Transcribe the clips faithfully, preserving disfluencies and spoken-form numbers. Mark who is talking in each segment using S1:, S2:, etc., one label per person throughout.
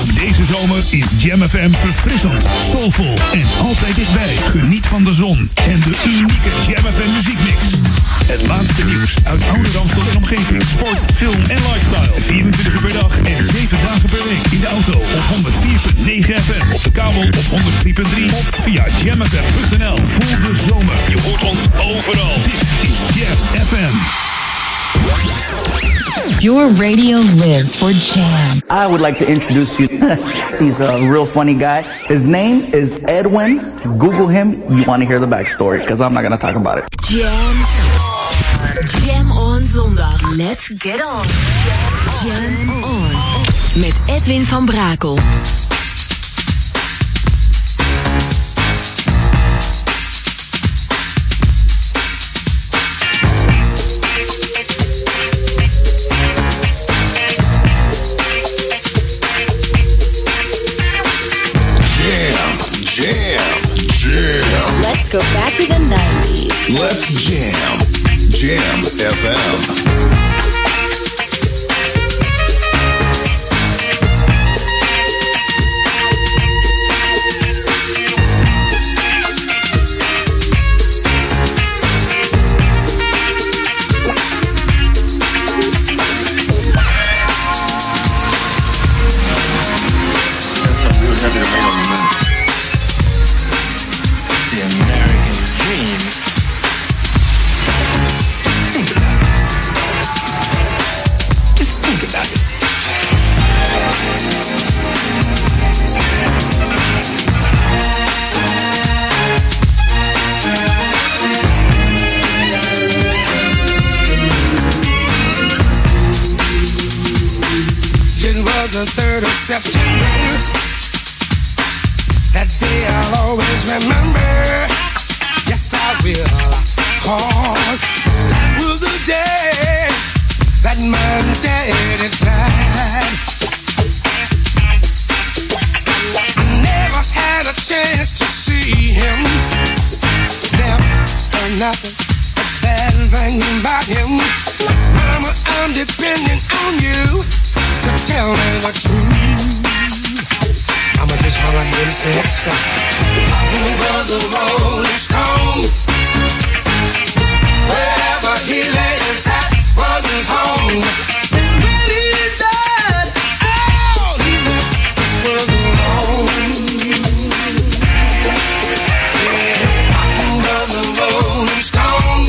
S1: Ook deze zomer is Jam F M verfrissend, soulvol en altijd dichtbij. Geniet van de zon en de unieke Jam F M muziekmix. Het laatste nieuws uit oude Ramstel en omgeving. Sport, film en lifestyle. vierentwintig uur per dag en zeven dagen per week. In de auto op honderd vier komma negen F M. Op de kabel op honderd drie komma drie. Of via jam f m punt n l. Voel de zomer. Je hoort ons overal. Dit is Jam F M.
S2: Your radio lives for Jam.
S3: I would like to introduce you. He's a real funny guy. His name is Edwin. Google him. You want to hear the backstory, because I'm not going to talk about it.
S2: Jam. Jam on zondag. Let's get on. Jam on. Met Edwin van Brakel.
S4: Let's go back to the nineties.
S5: Let's jam. Jam F M.
S6: The third of September, that day I'll always remember. Yes, I will, cause that was the day that my daddy died. I never had a chance to see him, never heard nothing but bad things about him. Mama, I'm depending on you to tell me the truth. I'ma just run ahead and say it so. Who was a rolling stone? Wherever he laid his hat was his home. And when he died, all he left us was alone. Who was a rolling stone?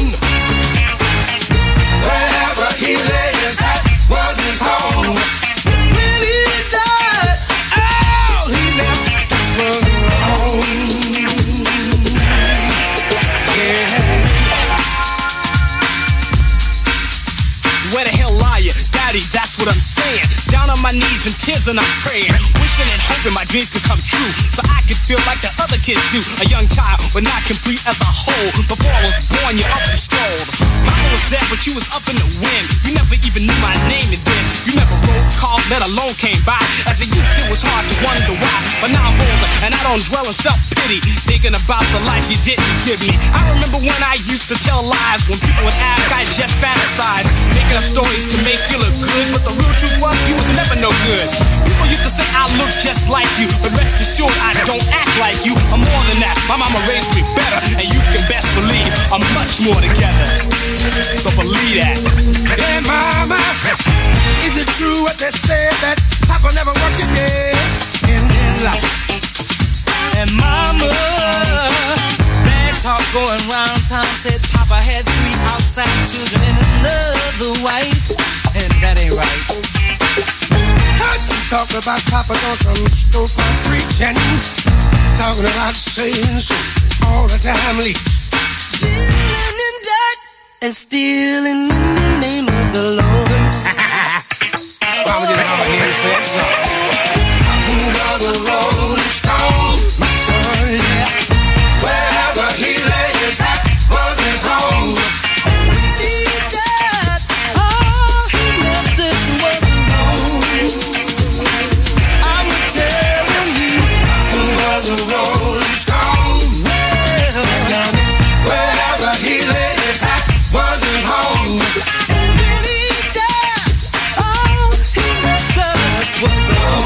S6: Wherever he laid his hat was his home.
S7: That's what I'm saying. Down on my knees in tears and I'm praying, wishing and hoping my dreams could come true, so I could feel like the other kids do. A young child, but not complete as a whole. Before I was born, you up and strolled. Mama was there, but you was up in the wind. You never even knew my name, and then you never wrote, called, let alone came by. As a youth, it was hard to wonder why, but now I'm older and I don't dwell in self-pity, thinking about the life you didn't give me. I remember when I used to tell lies. When people would ask, I just fantasized, making up stories to make you look good, but the real truth was you was never no good. People used to say I look just like you, but rest assured I don't act like you. I'm more than that. My mama raised me better, and you can best believe I'm much more together. So believe that.
S6: Hey mama, is it true what they say that Papa never worked a day in his life?
S8: And mama, bad talk going round town said Papa had three outside children and another wife, and that ain't right.
S6: Heard some talk about Papa doing some storefront preaching, talking about saying so all the time.
S8: Dealing in debt and stealing in the name of the Lord.
S6: Mama just come here and say so. Who does a rolling stone? My son, yeah. Wherever he laid his hat was his home.
S8: When he died, all he left us was alone. I'm telling you,
S6: who does a rolling stone?
S8: Well,
S6: wherever he laid his hat was his home.
S8: And when he died, all he left us was alone.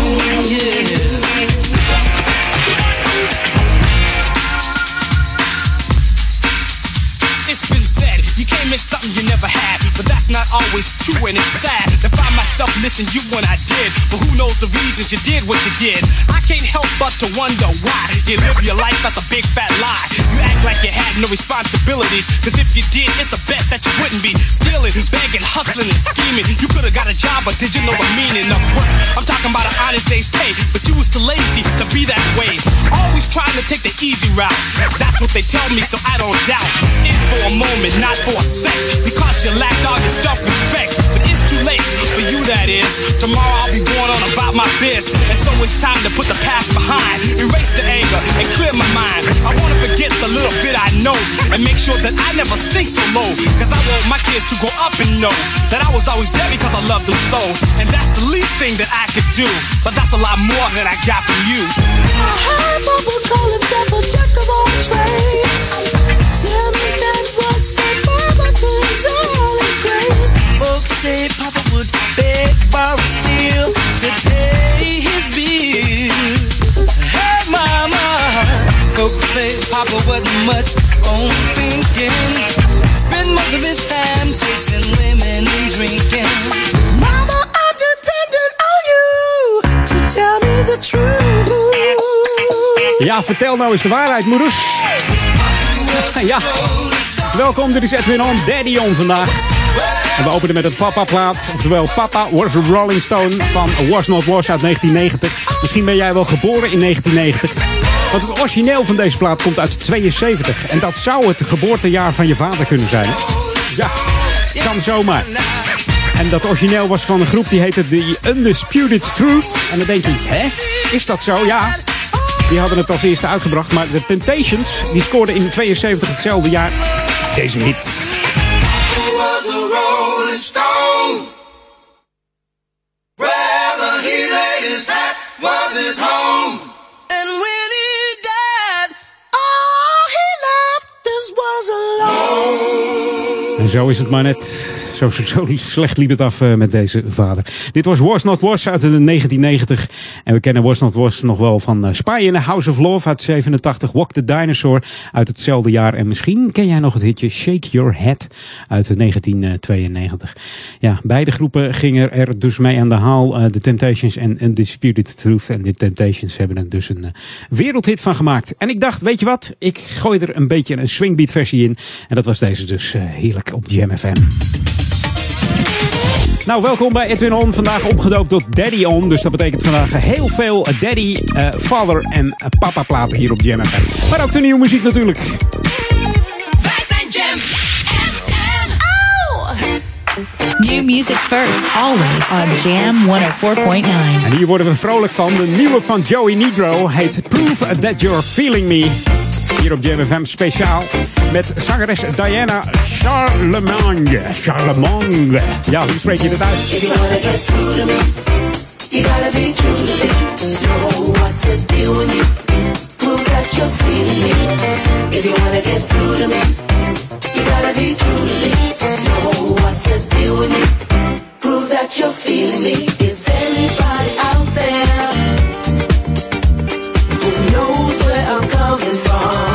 S7: always true, and it's sad to find myself missing you when I did. But who knows the reasons you did what you did? I can't help but to wonder why you live your life as a big fat lie. You act like you had no responsibilities, cause if you did, it's a bet that you wouldn't be stealing, begging, hustling, and scheming. You could've got a job, but did you know the meaning of work? I'm talking about an honest day's pay, but you was too lazy to be that way. Always trying to take the easy route. That's what they tell me, so I don't doubt. In for a moment, not for a sec, because you lacked all your self-respect. But it's too late for you, that is. Tomorrow I'll be going on about my biz, and so it's time to put the past behind, erase the anger and clear my mind. I wanna forget the little bit I know and make sure that I never sink so low, cause I want my kids to grow up and know that I was always there because I loved them so. And that's the least thing that I could do, but that's a lot more than I got from you.
S6: I heard Papa call himself a jack of all trades. Tell me that was said Papa to his only grave.
S8: Folks say Papa would beg, borrow, steal to pay his bills. Hey mama, folks say Papa wasn't much on thinking. Spend most of his time chasing women and drinking.
S6: Mama, I'm dependent on you to tell me the truth.
S9: Ja, vertel nou eens de waarheid, moeders. Ja, welkom, dit is Edwin On, Daddy On vandaag. En we openen met een Papa-plaat, oftewel Papa Was a Rolling Stone van Was Not Was uit negentien negentig. Misschien ben jij wel geboren in negentien negentig. Want het origineel van deze plaat komt uit tweeënzeventig. En dat zou het geboortejaar van je vader kunnen zijn. Ja, kan zomaar. En dat origineel was van een groep die heette The Undisputed Truth. En dan denk je, hè? Is dat zo? Ja. Die hadden het als eerste uitgebracht. Maar de Temptations, die scoorden in tweeënzeventig hetzelfde jaar deze hit.
S6: Was a rolling stone. Wherever he laid his hat was his home. And when he died, all he left us was alone.
S9: En zo is het maar net. Zo, zo, zo slecht liep het af uh, met deze vader. Dit was Was Not Was uit de negentien negentig. En we kennen Was Not Was nog wel van uh, Spy in the House of Love uit zevenentachtig. Walk the Dinosaur uit hetzelfde jaar. En misschien ken jij nog het hitje Shake Your Head uit negentien tweeënnegentig. Ja, beide groepen gingen er dus mee aan de haal. Uh, The Temptations en Undisputed Truth. En de Temptations hebben er dus een uh, wereldhit van gemaakt. En ik dacht, weet je wat? Ik gooi er een beetje een swingbeat versie in. En dat was deze dus uh, heerlijk op Jam F M. Nou, welkom bij Edwin On. Vandaag opgedoopt tot Daddy On. Dus dat betekent vandaag heel veel Daddy, uh, Father en uh, Papa platen hier op Jam F M. Maar ook de nieuwe muziek natuurlijk.
S2: Wij zijn Jam F M. Oh!
S4: New music first, always on Jam honderdvier komma negen.
S9: En hier worden we vrolijk van. De nieuwe van Joey Negro heet Prove That You're Feeling Me. Hier op Jam F M speciaal met zangeres Diana Charlemagne. Charlemagne. Ja, hoe spreek je dat uit?
S6: If you wanna get through to me, you gotta be true to me. Know what's the deal with me? Prove that you're feeling me. If you wanna get through to me, you gotta be true to me. Know what's the deal with me? Prove that you're feeling me. Is anybody out there who knows where I'm coming from?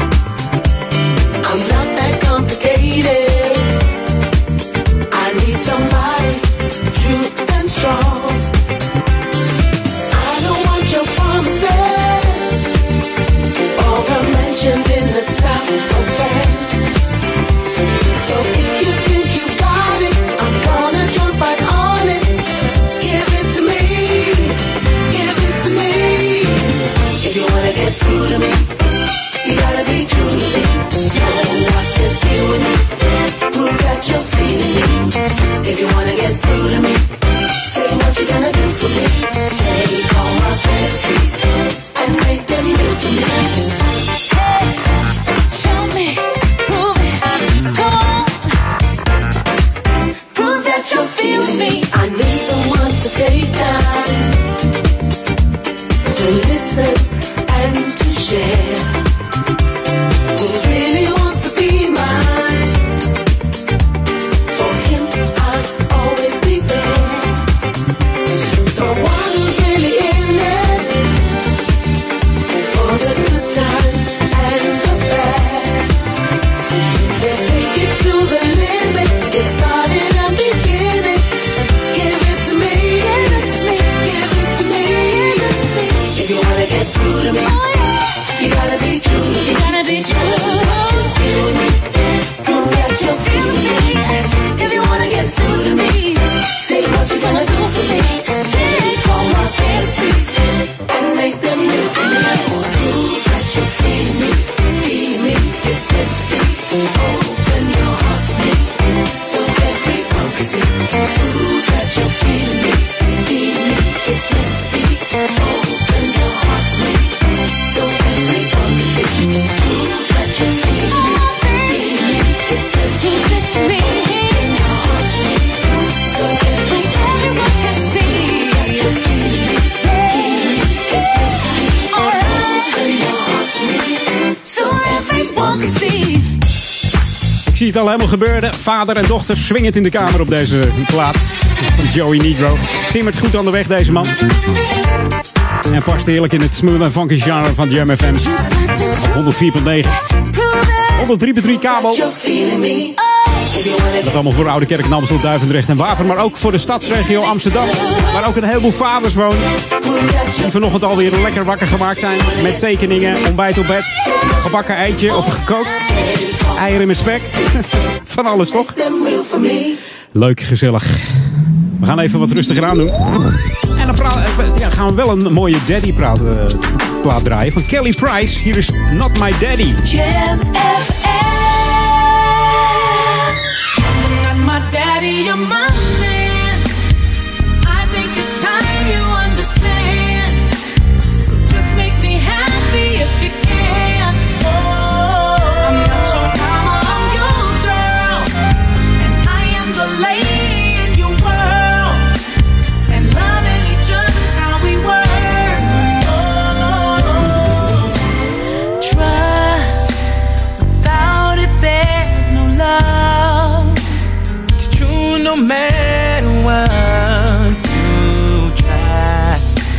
S6: I'm not that complicated. I need somebody true and strong. I don't want your promises, all the mentioned in the south of France. So if you think you got it, I'm gonna jump right on it. Give it to me, give it to me. If you wanna get through to me, you gotta be true to me. Know what's the deal with me? Prove that you're feeling me. If you wanna get through to me, say what you gonna do for me. Take all my fantasies and make them real for me. Hey, show me, prove it, come on. Prove that you're feeling me. I need someone to take time to listen and to share. Who really wants to be mine? For him, I'll always be there. Someone who's really in it for the good times and the bad. Let's take it to the limit. It started and
S9: Ik zie het al helemaal gebeuren. Vader en dochter swingend in de kamer op deze plaat van Joey Negro. Timmert goed aan de weg, deze man. En past heerlijk in het smooth en funky genre van Jam F M. honderd vier komma negen. honderd drie komma drie kabel. Dat allemaal voor Oude Kerk, Amstel, Duivendrecht en Waver. Maar ook voor de stadsregio Amsterdam. Waar ook een heleboel vaders wonen. Die vanochtend alweer lekker wakker gemaakt zijn. Met tekeningen, ontbijt op bed. Gebakken eitje of gekookt. Eieren met spek. Van alles toch? Leuk, gezellig. We gaan even wat rustiger aan doen. En dan pra- ja, gaan we wel een mooie daddy praat, uh, plaat draaien. Van Kelly Price. Hier is Not My Daddy.
S10: Jam F M. Not my daddy, you're my man. I think it's time you understand. So just make me happy if you can. Oh, I'm not your mama, I'm your girl. And I am the lady in your world. And loving each other's how we work. Oh, trust, without it there's no love.
S8: It's true no matter what you try.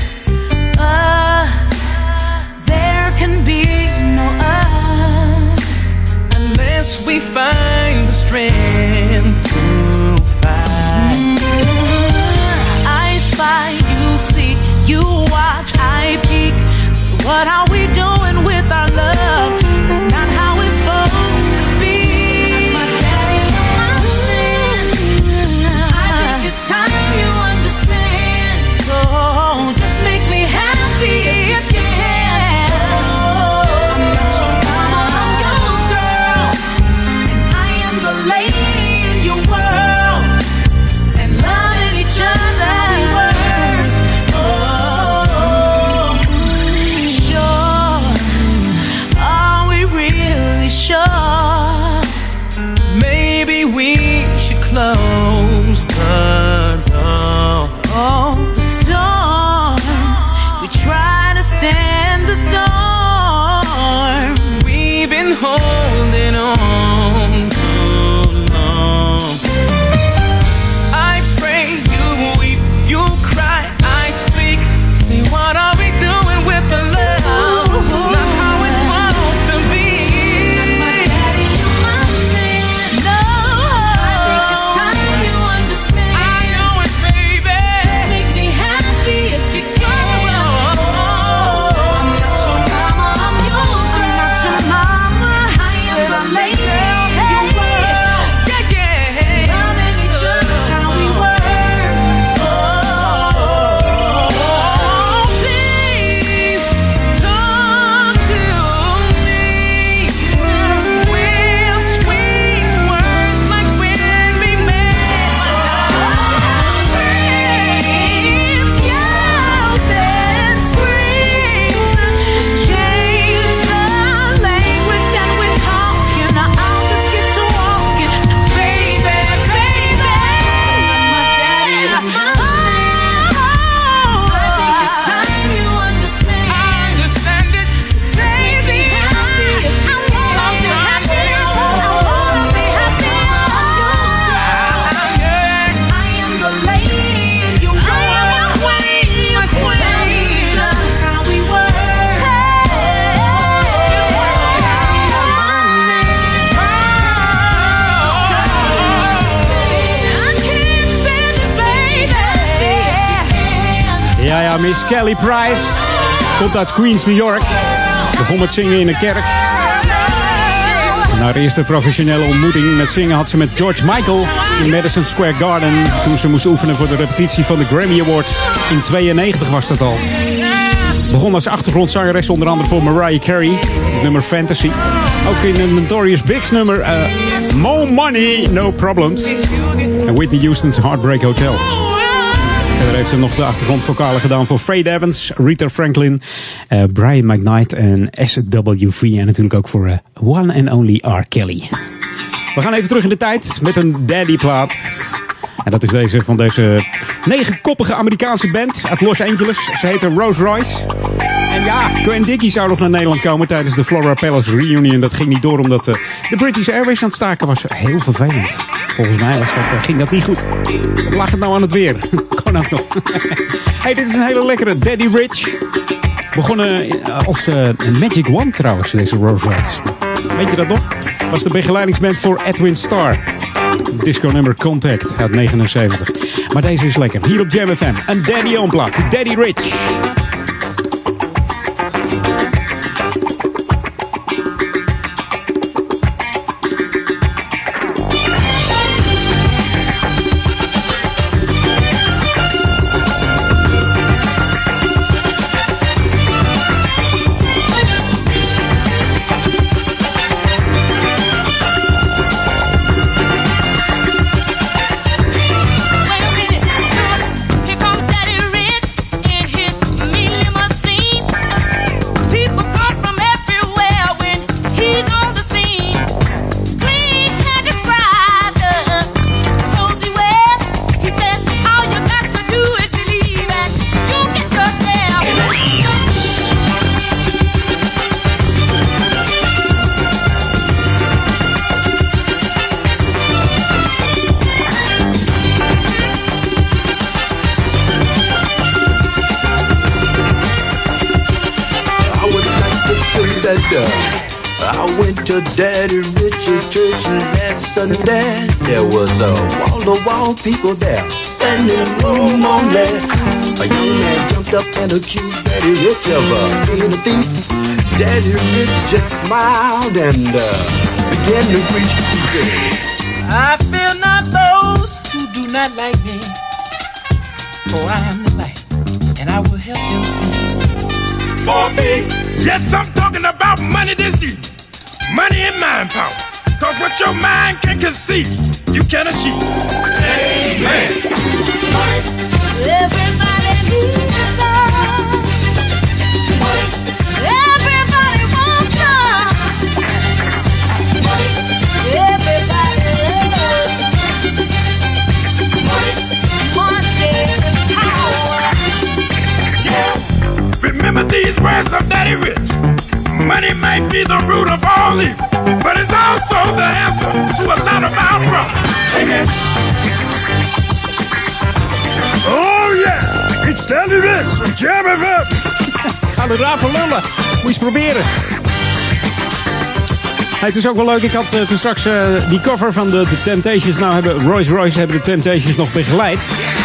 S10: Us, there can be no us.
S8: Unless we find the strength to fight.
S10: I spy, you see, you watch, I peek. So what are we doing with our love? That's not how it's supposed to be. My daddy, my man. I think it's time you understand. So just make me happy if you can. Oh, I'm not your mama, I'm your girl. And I am the lady in your world. And loving each other's words. Oh, sure. Are we really sure?
S8: Maybe we should close the door.
S10: Oh, the storms. We try to stand the storm.
S8: We've been holding on too long. I pray you weep, you cry, I speak. See, what are we doing with the love? It's not how it's supposed to be.
S10: My daddy, you're my man. No, I think it's time you understand.
S8: I know it, baby.
S10: Just make me happy if you can. Oh, I'm not your mama, I'm your girl. I'm not your mama. I am the lady in your world.
S8: Yeah, yeah.
S10: Loving each other's how we work. Oh,
S8: Please talk to me with sweet words like when we met.
S10: friends, yells and screams. Change the language that we're talking. I'll just get to walking, baby, baby. My daddy, my man. I think it's time you understand.
S8: I understand it.
S10: Just make me happy if you can. I wanna be happy. I am the lady in your world. I am your queen, your queen. Just how we work. I can't stand this, baby.
S9: Ja, ja, Miss Kelly Price. Komt uit Queens, New York. Begon met zingen in een kerk. Na haar eerste professionele ontmoeting met zingen had ze met George Michael in Madison Square Garden. Toen ze moest oefenen voor de repetitie van de Grammy Awards. In tweeënnegentig was dat al. Begon als achtergrondzangeres onder andere voor Mariah Carey. Het nummer Fantasy. Ook in een Notorious Big's nummer uh, More Money, No Problems. En Whitney Houston's Heartbreak Hotel. Verder heeft ze nog de achtergrondvokalen gedaan voor Faith Evans, Rita Franklin, uh, Brian McKnight en S W V. En natuurlijk ook voor uh, One and Only R. Kelly. We gaan even terug in de tijd met een daddy-plaat. En dat is deze van deze negenkoppige Amerikaanse band uit Los Angeles. Ze heette Rose Royce. En ja, Gwen Dickie zou nog naar Nederland komen tijdens de Flora Palace Reunion. Dat ging niet door omdat uh, de British Airways aan het staken was. Heel vervelend. Volgens mij was dat, uh, ging dat niet goed. Of lag het nou aan het weer? Kan ook nog. Hey, dit is een hele lekkere Daddy Rich. Begonnen als uh, een Magic One trouwens, deze Rose Royce. Weet je dat nog? Was de begeleidingsband voor Edwin Starr. Disco nummer Contact uit negenenzeventig. Maar deze is lekker. Hier op Jam F M. Een Daddy on plaat. Daddy Rich.
S11: I went to Daddy Rich's church last Sunday. There was a wall-to-wall people there, standing room only. A young man jumped up and accused Daddy Rich of uh, being a thief. Daddy Rich just smiled and uh, began to preach.
S8: I fear not those who do not like me, for I am the light, and I will help them see.
S12: For me, yes, I'm talking about money this year. Money and mind power. Cause what your mind can conceive, you can achieve. Amen.
S10: Everybody needs some. Everybody wants some. Everybody loves money and power.
S12: Yeah. Remember these words of Daddy Rich. Money might be the root of all evil, but it's also the answer to a lot of our problems. Amen.
S1: Oh yeah, it's Daddy Rich on Jam F M.
S9: Ga er raar voor lullen. Moet je eens proberen. Hey, het is ook wel leuk. Ik had uh, toen straks uh, die cover van de, de Temptations. Nou hebben Royce Royce hebben de Temptations nog begeleid.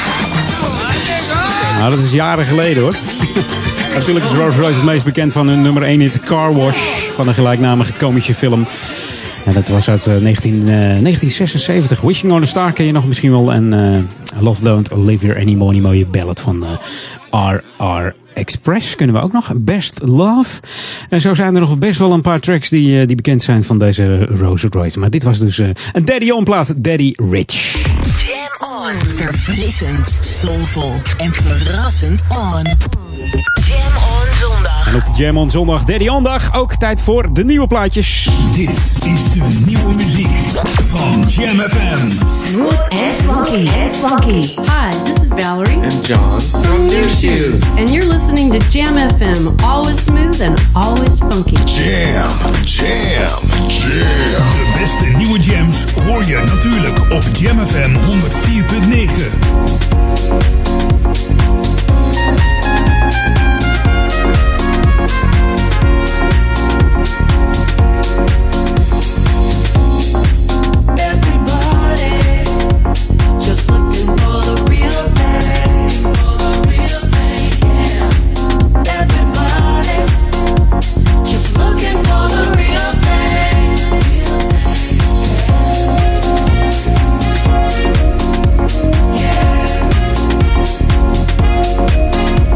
S9: Nou, dat is jaren geleden hoor. Natuurlijk is Rolls Royce het meest bekend van hun nummer één hit Car Wash van een gelijknamige komische film. En dat was uit uh, negentien, uh, negentien zesenzeventig. Wishing on a Star ken je nog misschien wel. En uh, Love Don't Live Here Anymore, die mooie ballad van uh, R R Express kunnen we ook nog. Best Love. En zo zijn er nog best wel een paar tracks die, uh, die bekend zijn van deze Rolls Royce. Maar dit was dus uh, een Daddy On plaat, Daddy Rich.
S2: Jam on. Verfrissend, soulful en verrassend on. Jam on zondag.
S9: En op de Jam on zondag, Daddy On dag, ook tijd voor de nieuwe plaatjes.
S1: Dit is de nieuwe muziek van Jam F M.
S2: Smooth and funky. And funky.
S13: Hi, this is Valerie.
S14: And John from New Shoes.
S13: And you're listening to Jam F M. Always smooth and always funky.
S5: Jam, jam, jam.
S1: De beste nieuwe jams hoor je natuurlijk op Jam F M honderd vier punt negen.
S10: Yeah.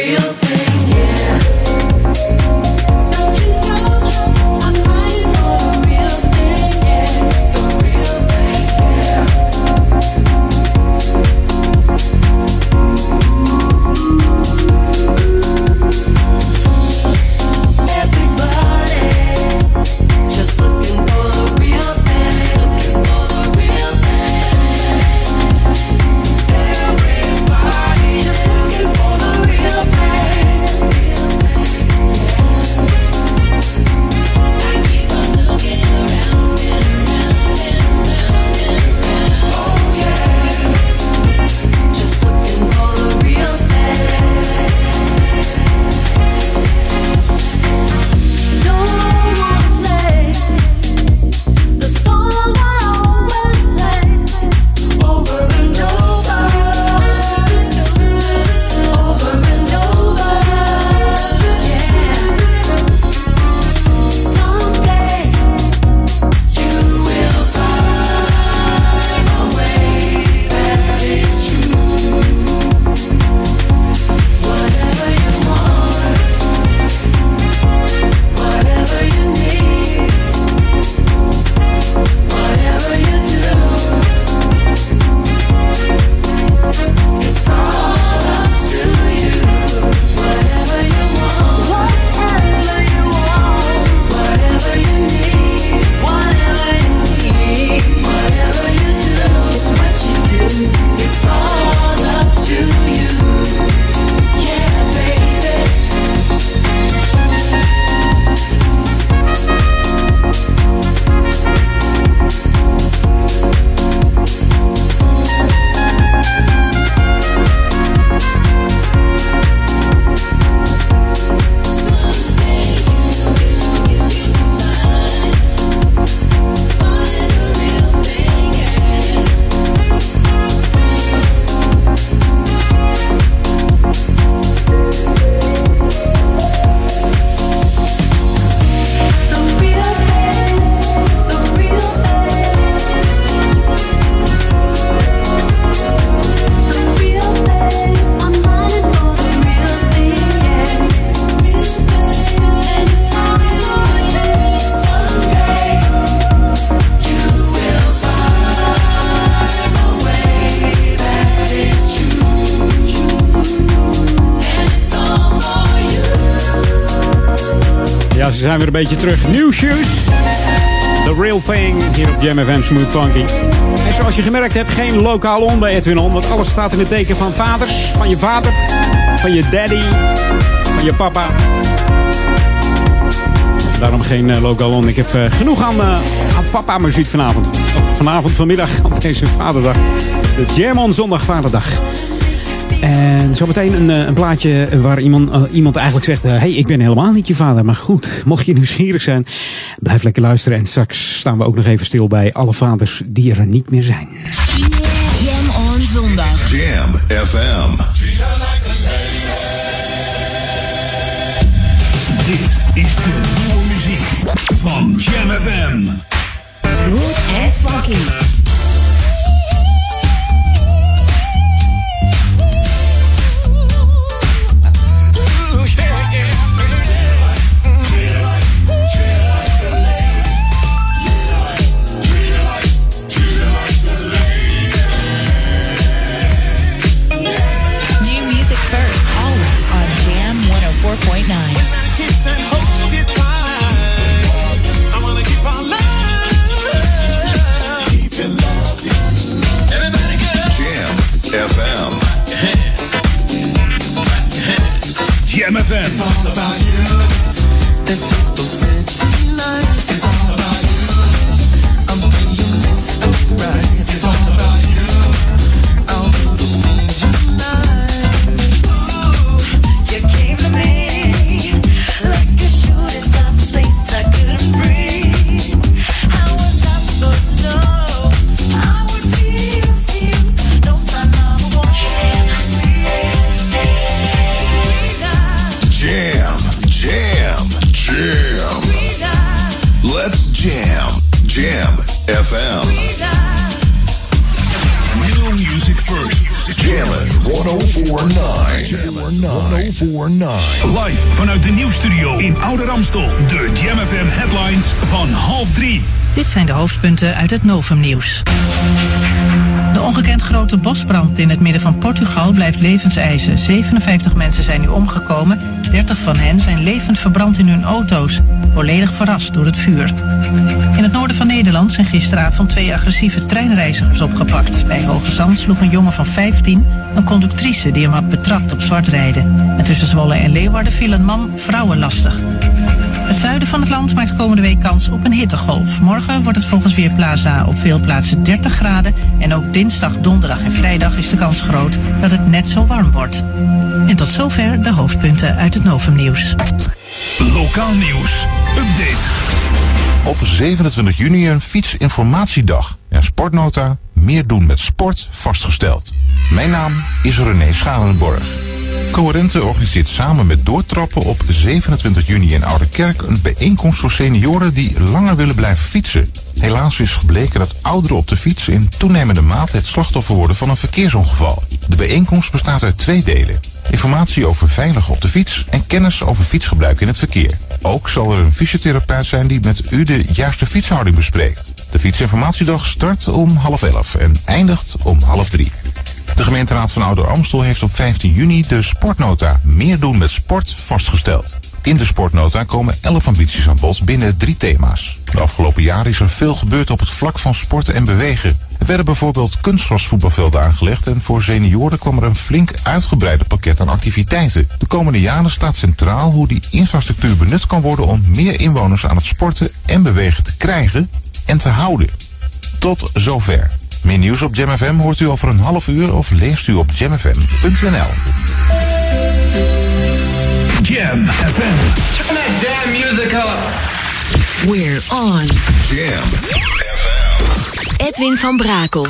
S9: Ja, ze zijn weer een beetje terug. New Shoes. The Real Thing. Hier op Jam F M Smooth Funky. En zoals je gemerkt hebt, geen lokaal on bij Edwin On. Want alles staat in het teken van vaders. Van je vader. Van je daddy. Van je papa. Daarom geen uh, lokaal on. Ik heb uh, genoeg aan, uh, aan papa muziek vanavond. Of vanavond, vanmiddag, op deze vaderdag. De Jam On Zondag Vaderdag. En zometeen een, een plaatje waar iemand, uh, iemand eigenlijk zegt... Hé, hey, ik ben helemaal niet je vader. Maar goed, mocht je nieuwsgierig zijn, blijf lekker luisteren. En straks staan we ook nog even stil bij alle vaders die er niet meer zijn.
S2: Jam On Zondag.
S5: Jam F M.
S1: Dit is de nieuwe muziek van Jam F M.
S2: Smooth and funky.
S1: Jam F M.
S6: It's all about you. It's simple city nights. It's all about you. I'm being Mister Right. It's all about you. I'll do those things you like. Ooh, you came to me like a shooting star from space I couldn't breathe. How was I supposed to know I would feel, feel? No sign of a war.
S5: Jam, jam, jam. Let's jam. Jam F M.
S1: New music first.
S5: Jam it one
S1: negen. Live vanuit de nieuwsstudio in Oude Ramstel. De Jam F M headlines van half drie.
S15: Dit zijn de hoofdpunten uit het Novum-nieuws. De ongekend grote bosbrand in het midden van Portugal blijft levenseisen. zevenenvijftig mensen zijn nu omgekomen. dertig van hen zijn levend verbrand in hun auto's. Volledig verrast door het vuur. In het noorden van Nederland zijn gisteravond twee agressieve treinreizigers opgepakt. Bij Hoge Zand sloeg een jongen van vijftien een conductrice die hem had betrapt op zwart rijden. En tussen Zwolle en Leeuwarden viel een man vrouwen lastig. Het zuiden van het land maakt komende week kans op een hittegolf. Morgen wordt het volgens Weerplaza op veel plaatsen dertig graden. En ook dinsdag, donderdag en vrijdag is de kans groot dat het net zo warm wordt. En tot zover de hoofdpunten uit het Novum-nieuws.
S1: Lokaal nieuws. Update.
S16: Op zevenentwintig juni een fietsinformatiedag. En Sportnota, meer doen met sport, vastgesteld. Mijn naam is René Schalenborg. Coherente organiseert samen met Doortrappen op zevenentwintig juni in Ouderkerk een bijeenkomst voor senioren die langer willen blijven fietsen. Helaas is gebleken dat ouderen op de fiets in toenemende mate het slachtoffer worden van een verkeersongeval. De bijeenkomst bestaat uit twee delen. Informatie over veilig op de fiets en kennis over fietsgebruik in het verkeer. Ook zal er een fysiotherapeut zijn die met u de juiste fietshouding bespreekt. De fietsinformatiedag start om half elf en eindigt om half drie. De gemeenteraad van Ouder Amstel heeft op vijftien juni de Sportnota meer doen met sport vastgesteld. In de Sportnota komen elf ambities aan bod binnen drie thema's. De afgelopen jaren is er veel gebeurd op het vlak van sporten en bewegen. Er werden bijvoorbeeld kunstgrasvoetbalvelden aangelegd en voor senioren kwam er een flink uitgebreider pakket aan activiteiten. De komende jaren staat centraal hoe die infrastructuur benut kan worden om meer inwoners aan het sporten en bewegen te krijgen en te houden. Tot zover. Meer nieuws op Jam F M hoort u over een half uur of leest u op jam f m punt n l.
S1: Jam F M.
S14: Turn that damn music up.
S2: We're on.
S5: Jam F M.
S2: Edwin van Brakel.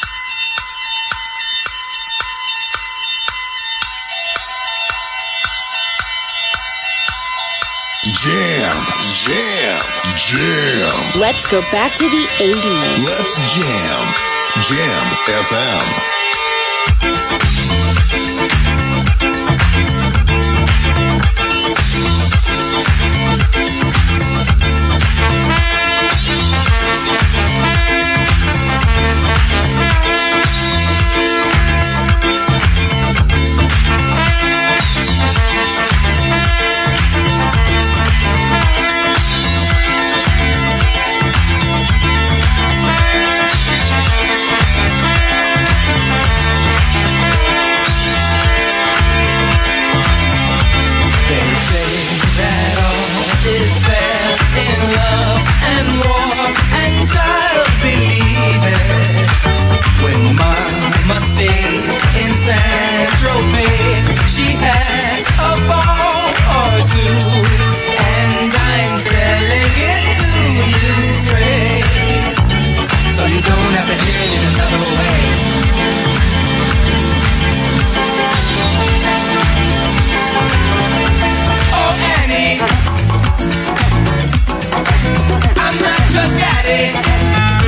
S5: Jam, jam, jam.
S4: Let's go back to the eighties.
S5: Let's jam. Jam F M.
S8: I'm not your daddy.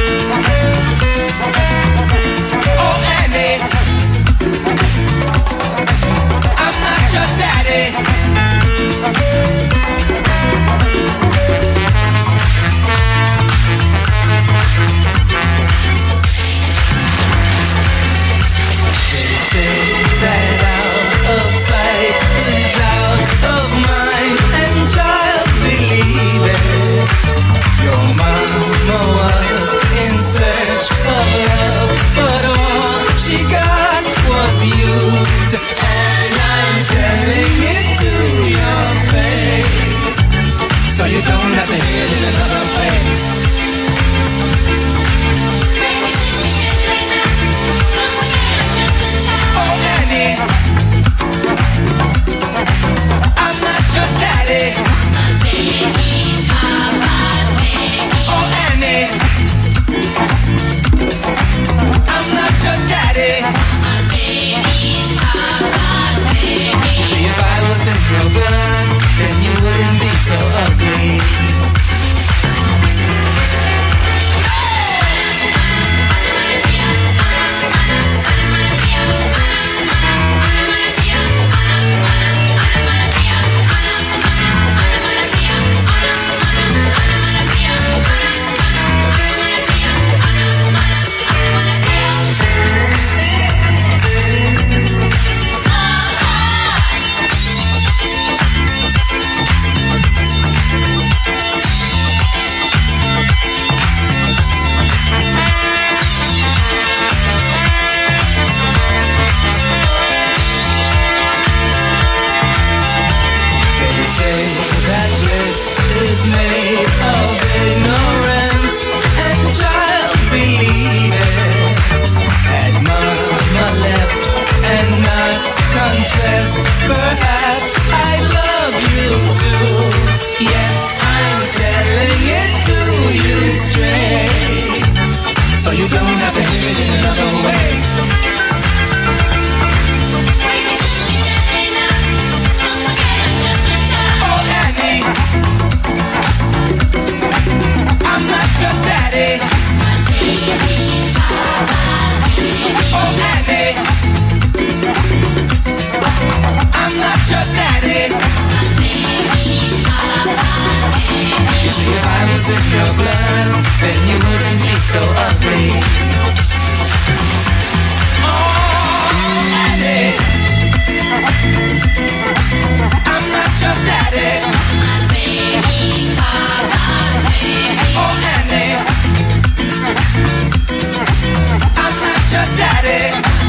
S8: Yes, I'm telling it to you straight, so you don't have to hear it in another way. Oh, Annie, I'm not your daddy. Oh, Annie, I'm not your daddy. You see, if I was in your blood, then you wouldn't be so ugly. Oh, Annie, I'm not your daddy. Oh, Annie, I'm not your daddy.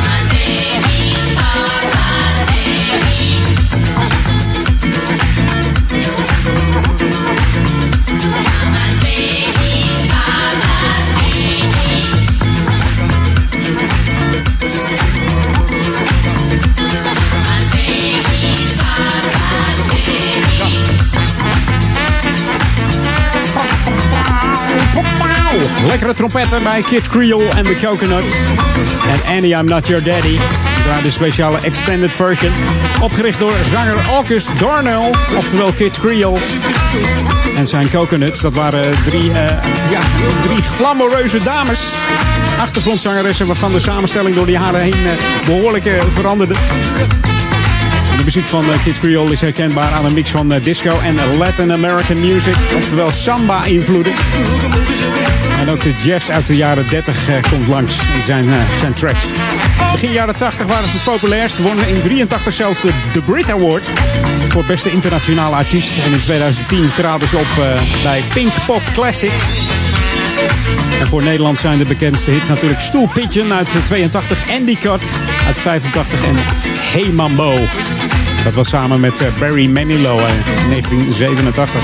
S9: Lekkere trompetten bij Kid Creole en The Coconut. En Annie, I'm Not Your Daddy. Daar de speciale extended version. Opgericht door zanger August Darnell, oftewel Kid Creole. En zijn Coconuts, dat waren drie, uh, ja, drie glamoureuze dames. Achtergrondzangeressen waarvan de samenstelling door de jaren heen uh, behoorlijk uh, veranderde. De muziek van uh, Kid Creole is herkenbaar aan een mix van uh, disco en Latin American music. Oftewel samba-invloeden. En ook de jazz uit de jaren dertig uh, komt langs in zijn, uh, zijn tracks. Begin jaren tachtig waren ze het populairst. Wonnen in drieëntachtig zelfs de, de Brit Award voor beste internationale artiest. En in tweeduizend tien traden ze op uh, bij Pink Pop Classic. En voor Nederland zijn de bekendste hits natuurlijk Stoel Pigeon uit tweeëntachtig, Andy Cut uit vijfentachtig en Hey Mambo. Dat was samen met uh, Barry Manilow in negentien zevenentachtig.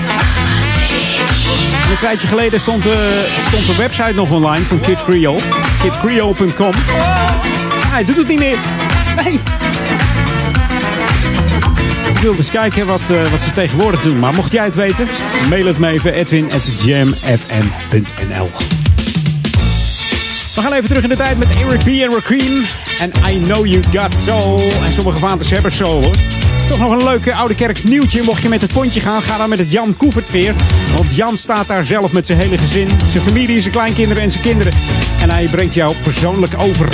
S9: Een tijdje geleden stond, uh, stond de website nog online van Kid Creole. kid creole punt com. Hij doet het niet meer. Nee. Ik wilde eens kijken wat, uh, wat ze tegenwoordig doen. Maar mocht jij het weten, mail het me even. Edwin at jam f m punt n l. We gaan even terug in de tijd met Eric B. en Rakim. En I Know You Got Soul. En sommige vaanters hebben soul, hoor. Toch nog een leuke Oude Kerk nieuwtje. Mocht je met het pontje gaan, ga dan met het Jan Koevertveer. Want Jan staat daar zelf met zijn hele gezin. Zijn familie, zijn kleinkinderen en zijn kinderen. En hij brengt jou persoonlijk over.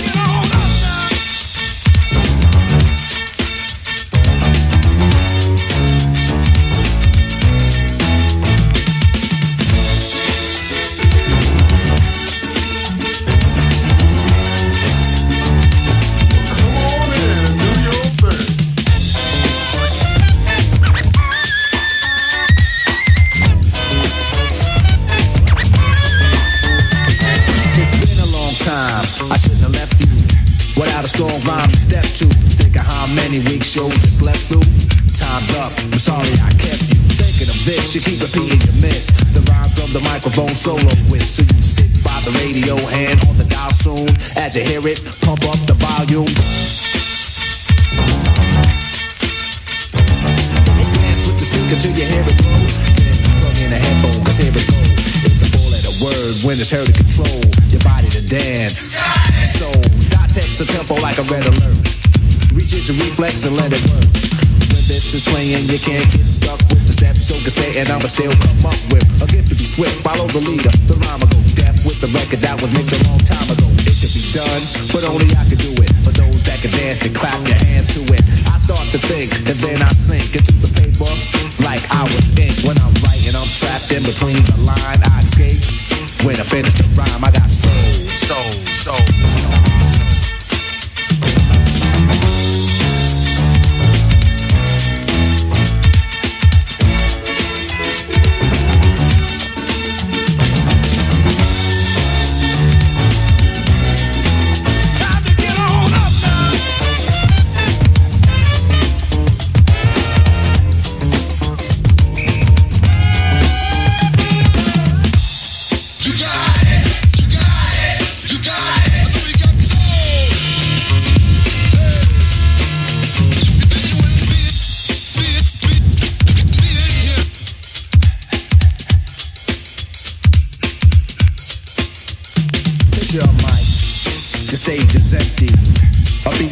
S17: Strong rhyme to step to. Think of how many weak shows you slept through. Time's up. I'm sorry I kept you thinking of this. You keep repeating your miss. The rhyme from the microphone solo with. So you sit by the radio, hand on the dial soon. As you hear it, pump up the volume. Dance with the speaker till you hear it go. Then plug in a headphone, cause here it go. It's a four-letter word when it's heard to control your body to dance. So text a tempo like a red alert. Reach your reflex and let it work. When this is playing, you can't get stuck with the steps. So can say, and I'ma still come up with a gift to be swift. Follow the leader, the rhyme will go deaf with the record that was mixed a long time ago. It could be done, but only I could do it. For those that can dance and clap your hands to it. I start to think, and then I sink into the paper like I was ink. When I'm writing, I'm trapped in between the line. I escape. When I finish the rhyme, I got soul, soul, soul.
S6: You got it, you got it, you got it.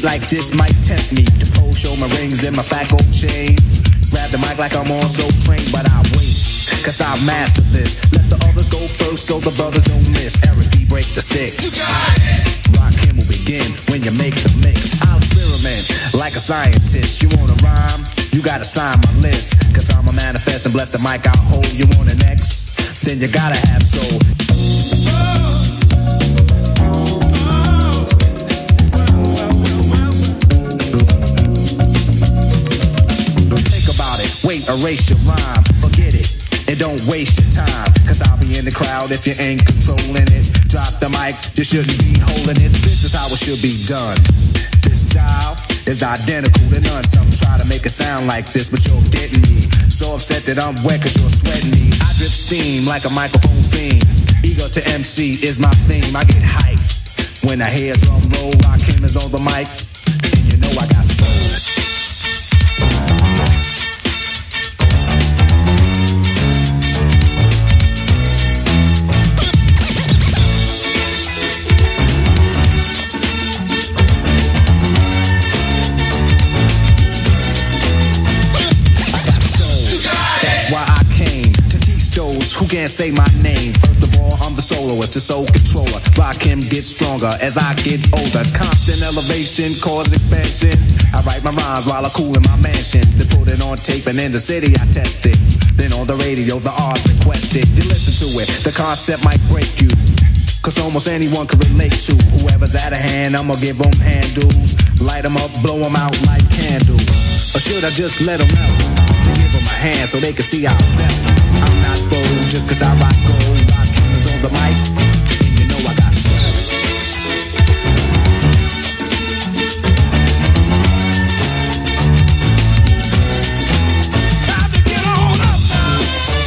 S17: like this might tempt me to pose, show my rings and my fat gold chain. Grab the mic like I'm on so trained, but I wait, cause I've mastered this. Let the others go first so the brothers don't miss. Eric B, break the sticks. You got it. Rakim will begin when you make the mix. I'll experiment like a scientist. You wanna rhyme? You gotta sign my list. Cause I'm a manifest and bless the mic I'll hold. You want an X? Then you gotta have soul. Think about it, wait, erase your rhyme, forget it, and don't waste your time. Cause I'll be in the crowd if you ain't controlling it. Drop the mic, you shouldn't be holding it. This is how it should be done. This style is identical to none. Some try to make it sound like this, but you're getting me. So upset that I'm wet cause you're sweating me. I drip steam like a microphone fiend. Ego to M C is my theme. I get hyped when I hear drum roll. Rakim is on the mic, and you know I got soul. Who can't say my name? First of all, I'm the soloist, the soul controller. Rakim gets stronger as I get older. Constant elevation, cause expansion. I write my rhymes while I cool in my mansion. Then put it on tape and in the city I test it. Then on the radio, the R's requested. You listen to it, the concept might break you. Cause almost anyone can relate to whoever's out of hand, I'ma give them handles. Light them up, blow them out like candles. Or should I just let them out? To give them a hand so they can see how I felt. I'm not bold just cause I rock gold. Rakim is on the mic, and you know I got soul. Time to get on up now.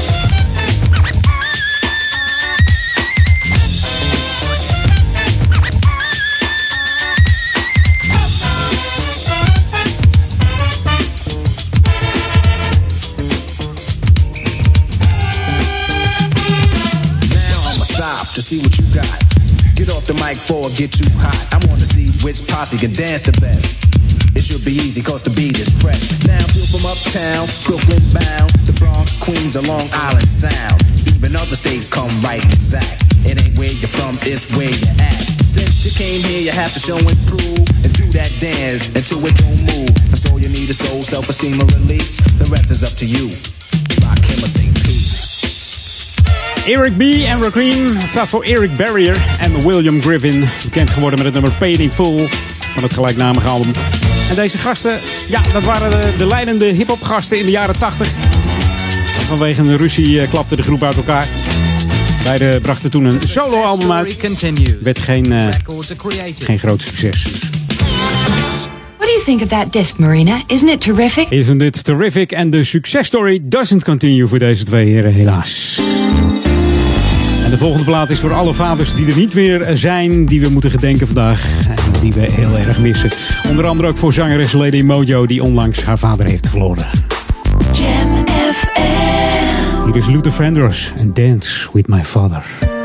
S17: To see what you got. Get off the mic before it get too hot. I wanna see which posse can dance the best. It should be easy cause the beat is fresh. Now feel from uptown, Brooklyn bound, the Bronx, Queens, or Long Island sound. Even other states come right exact. It ain't where you're from, it's where you're at. Since you came here, you have to show and prove and do that dance until it don't move. That's all you need is soul, self-esteem, and release. The rest is up to you. Rakim or say peace.
S9: Eric B. en Rakim. Het staat voor Eric Barrier en William Griffin. Bekend geworden met het nummer Paid in Full van het gelijknamige album. En deze gasten, ja, dat waren de, de leidende hip-hop gasten in de jaren tachtig. Vanwege een ruzie klapte de groep uit elkaar. Beiden brachten toen een solo-album uit. Werd geen, uh, geen groot succes.
S18: What do you think of that disc, Marina? Isn't it terrific?
S9: Isn't it terrific? En de successtory doesn't continue voor deze twee heren, helaas. En de volgende plaat is voor alle vaders die er niet meer zijn, die we moeten gedenken vandaag. En die we heel erg missen. Onder andere ook voor zangeres Lady Mojo, die onlangs haar vader heeft verloren.
S2: Jam F M.
S9: Hier is Luther Vandross en Dance With My Father.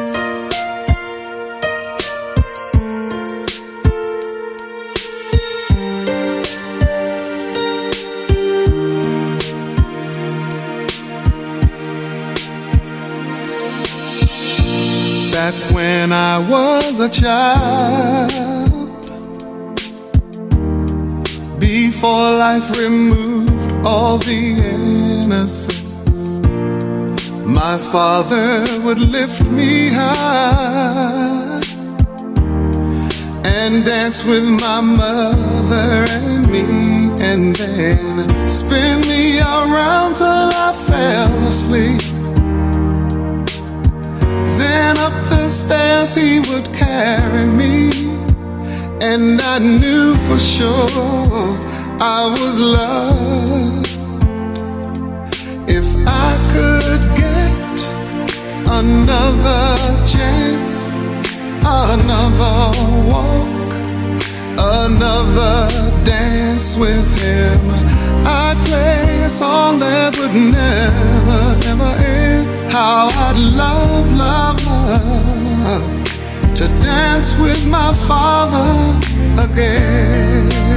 S19: Back when I was a child, before life removed all the innocence, my father would lift me high and dance with my mother and me, and then spin me around till I fell asleep. Then up the stairs he would carry me, and I knew for sure I was loved. If I could get another chance, another walk, another dance with him, I'd play a song that would never, ever end. How I'd love, love, love to dance with my father again.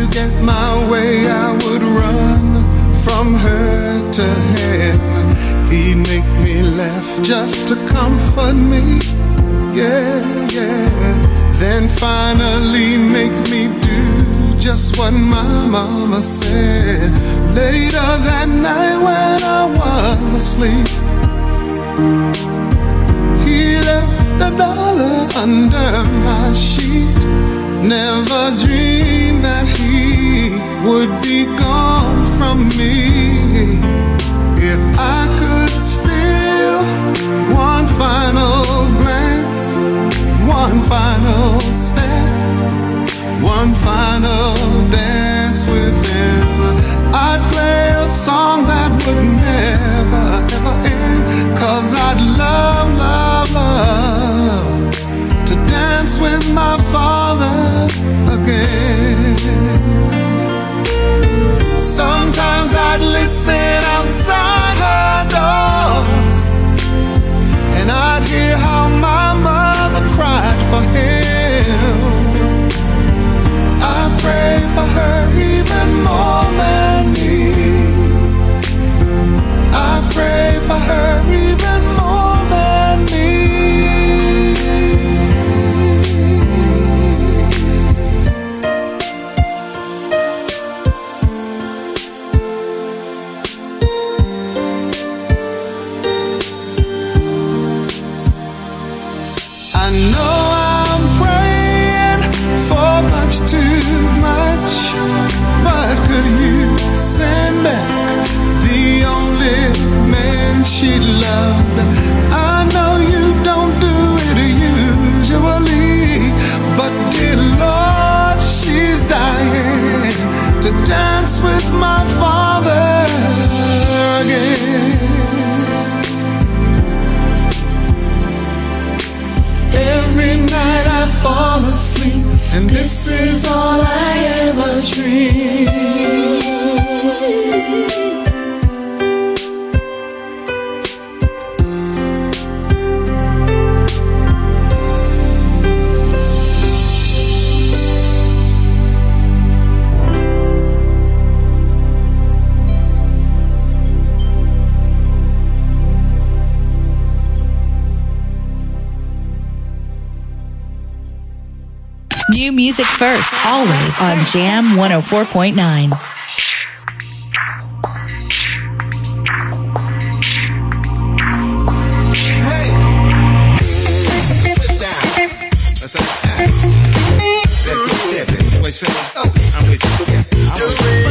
S19: get my way, I would run from her to him. He'd make me laugh just to comfort me. Yeah, yeah. Then finally make me do just what my mama said. Later that night when I was asleep, he left a dollar under my sheet. Never dreamed that he would be gone from me. If I could steal one final glance, one final step, one final dance with him, I'd play a song that would never, ever end. Cause I'd love, love, love to dance with my father again. Sometimes I'd listen outside her door, and I'd hear how my mother cried for him. I pray for her even more than me. I pray for her even more than me. I know I'm praying for much too much, but could you send back the only man she loved? I know you don't do it usually, but dear Lord, she's dying to dance with my father again. Every night I fall asleep, and this is all I ever dream.
S4: New music first, always on Jam one oh four point nine.
S6: Hey, sit down. Let's have that. Let's go stepping. Wait, say, oh, I'm with you. Yeah, I'm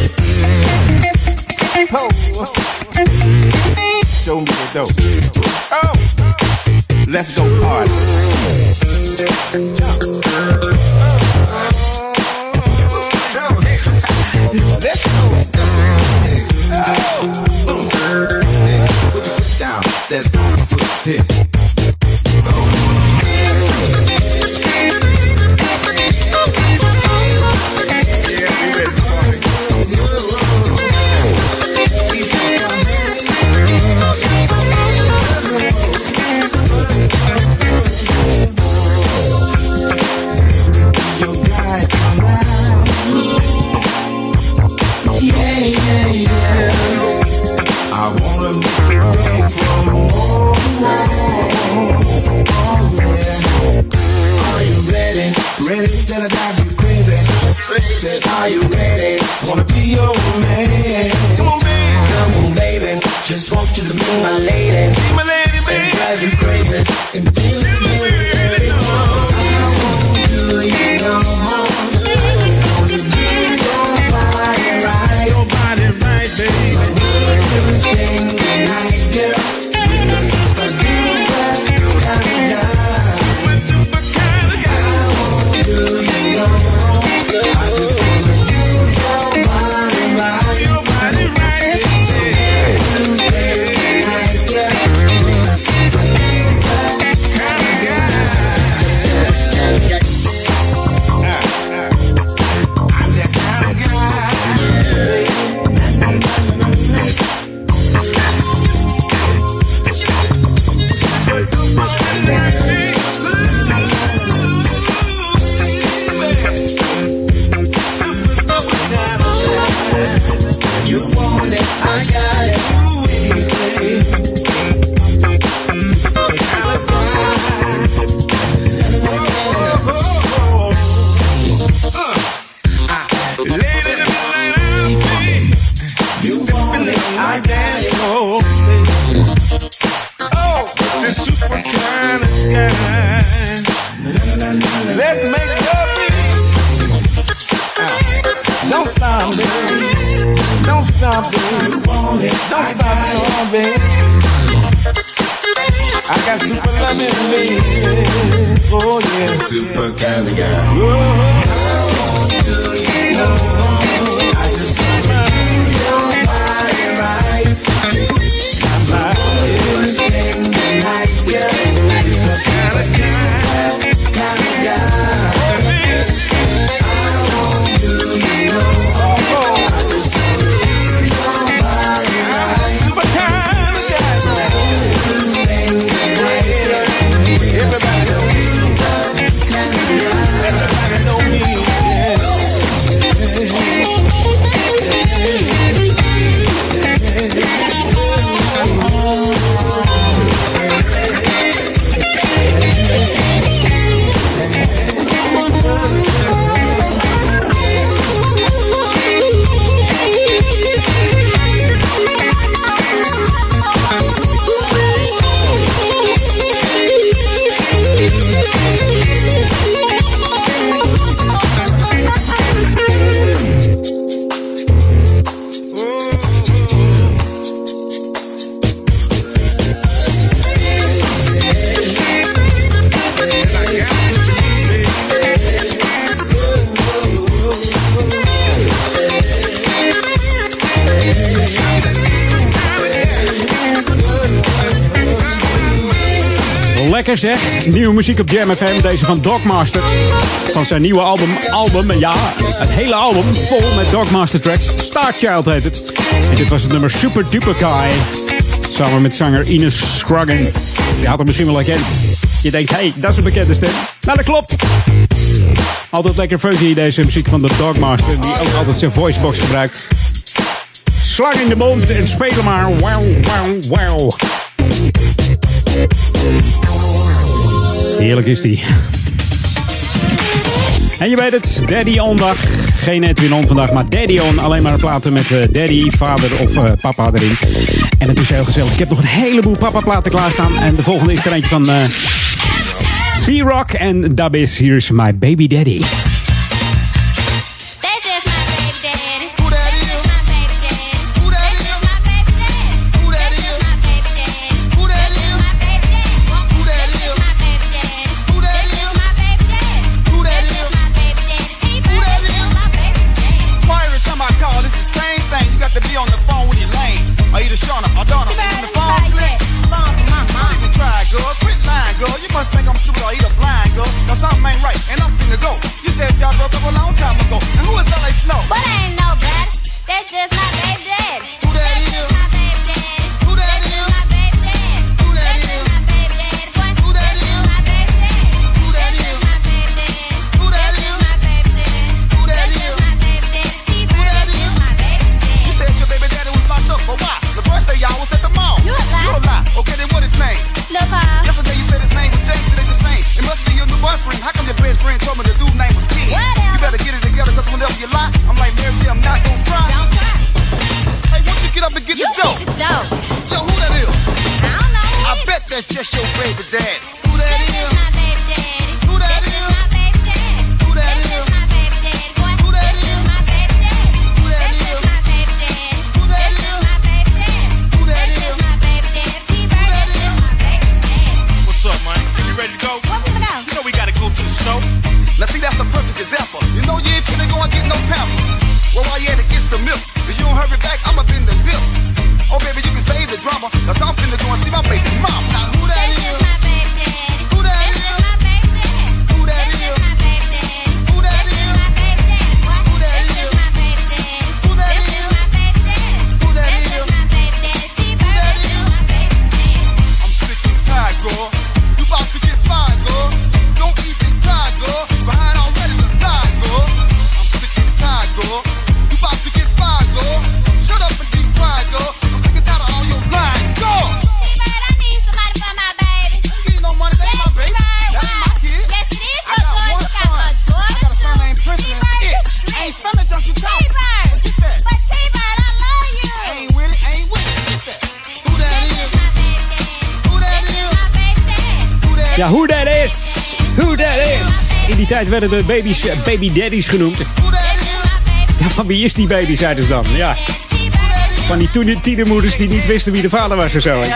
S6: with you. Oh, show me the dope. Oh, let's go party. Jump. Let's go. Oh, boom. Hey, put your foot down. That's my foot. Hey. Yeah, we ready to party. Yeah, yeah, yeah. I wanna make it big from home. Oh, yeah. Are you ready? Ready? Then I drive you crazy. Said, are you ready? Wanna be your man. Come on, baby. Come on, baby. Just want you to be my lady. Be my lady, baby. And drive you crazy. Until you really know. I want you, you know. Your body right, baby. Everything nice, girl. I do that kind of guy. Super kind of guy. I want you, you know. I just wanna do your body right. Your body right, baby. Everything nice, girl. I do that shine. Let's make love, baby. Don't stop, baby. Don't stop, baby. Don't stop, no, baby. I got super love in me. Oh, yeah. Super kind of guy. How do you know? I just want to do your body right. I'm not gonna spend the night, girl. You're kind of guy, kind of guy. How do you know? I just want to do your body right. Super kind of guy. Everybody know me. Everybody know me.
S9: Lekker zeg. Nieuwe muziek op Jam F M. Deze van Dogmaster. Van zijn nieuwe album. Album, ja. Het hele album vol met Dogmaster tracks. Starchild heet het. En dit was het nummer Super Duper Guy. Samen met zanger Ines Scroggins. Je had hem misschien wel herkend. Je denkt, hé, hey, dat is een bekende stem. Nou, dat klopt. Altijd lekker funky deze muziek van de Dogmaster. Die ook altijd zijn voicebox gebruikt. Slang in de mond en spelen maar. Wow, wow, wow. Heerlijk is die. En je weet het, Daddy On dag. Geen Edwin On vandaag, maar Daddy On. Alleen maar platen met uh, Daddy, vader of uh, papa erin. En het is heel gezellig. Ik heb nog een heleboel papa platen klaarstaan. En de volgende is er eentje van uh, B-Rock en Dabis. Hier is My Baby Daddy.
S6: Shut up and be quiet, girl. I'm sick and tired of all your lying, girl.
S9: Ja, who that is? Who that is? In die tijd werden de baby's uh, baby daddies genoemd. Ja, van wie is die baby, zeiden ze dan? Ja. Van die toen tienermoeders die niet wisten wie de vader was of zo.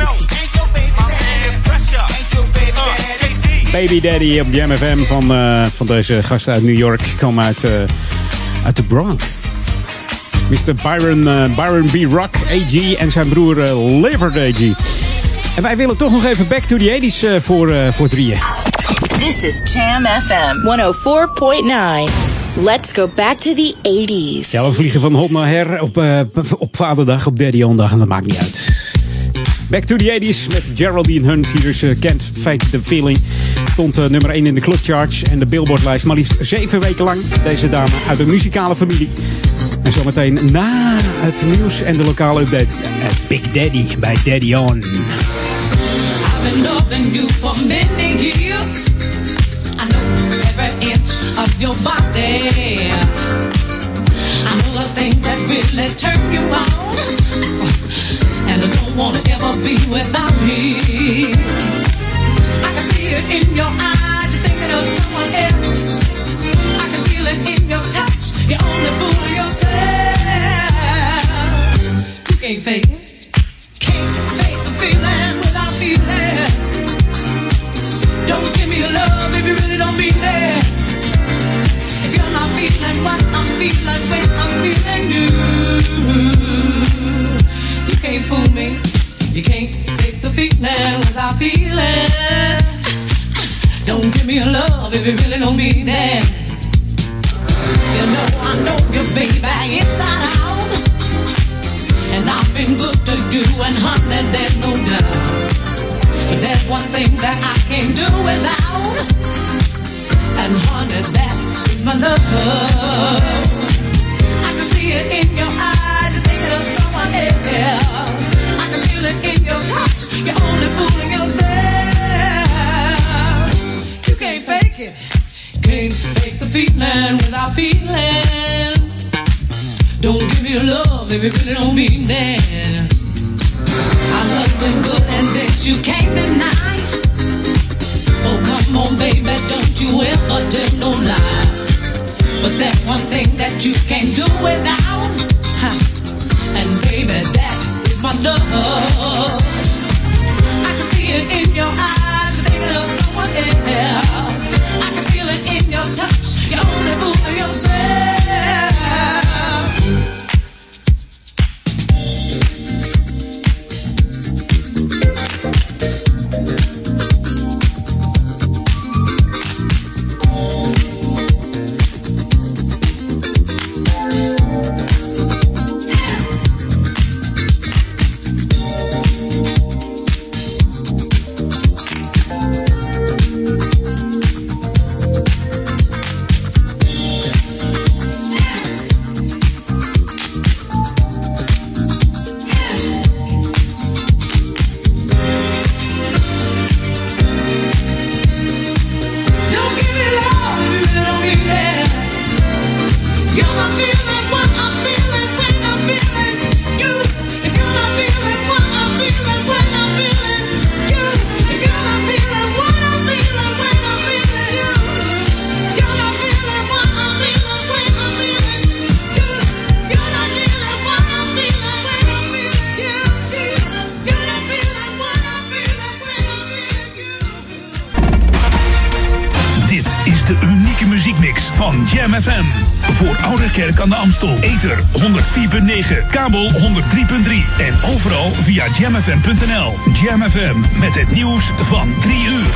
S9: Baby Daddy op Jam F M van, uh, van deze gasten uit New York. Komen uit, uh, uit de Bronx. mister Byron, uh, Byron B. Rock, A G en zijn broer uh, Livert A G. En wij willen toch nog even back to the eighties uh, voor, uh, voor drieën.
S4: This is Jam F M honderdvier komma negen. Let's go back to the eighties.
S9: Ja, we vliegen van hot naar her op, uh, op vaderdag, op Daddy-on-dag en dat maakt niet uit. Back to the eighties met Geraldine Hunt. Hier is uh, Can't Fake the Feeling. Stond uh, nummer één in de Club Charts en de Billboard-lijst. Maar liefst zeven weken lang. Deze dame uit een muzikale familie. En zometeen na het nieuws en de lokale update. Uh, Big Daddy bij Daddy On.
S8: I've been loving you for many years. I know every inch of your body. I know the things that really turn you on. And I don't wanna ever be without me. I can see it in your eyes, you're thinking of someone else. I can feel it in your touch, you're only fooling yourself. You can't fake it, can't fake the feeling without feeling. Don't give me your love if you really don't mean it. If you're not feeling what I'm feeling when I'm feeling you. You can't fool me. You can't fake the feeling without feeling. Don't give me your love if you really don't mean it. You know I know you, baby, inside out. And I've been good to you, and honey, there's no doubt. But there's one thing that I can't do without. And honey, that is my love. I can see it in your eyes, you're thinking of someone else. I can feel it in your touch, you're only fooling yourself. You can't fake it, can't fake the feeling without feeling. Don't give me your love if you really don't mean that. I love been good and this you can't deny. Oh come on baby, don't you ever tell no lie. But there's one thing that you can't do without. And baby, that is my love. I can see it in your eyes, you're thinking of someone else. I can feel it in your touch, you're only fooling yourself.
S1: Ouderkerk aan de Amstel. Ether honderdvier komma negen, kabel honderdrie komma drie en overal via jam f m punt n l. Jam F M met het nieuws van drie uur.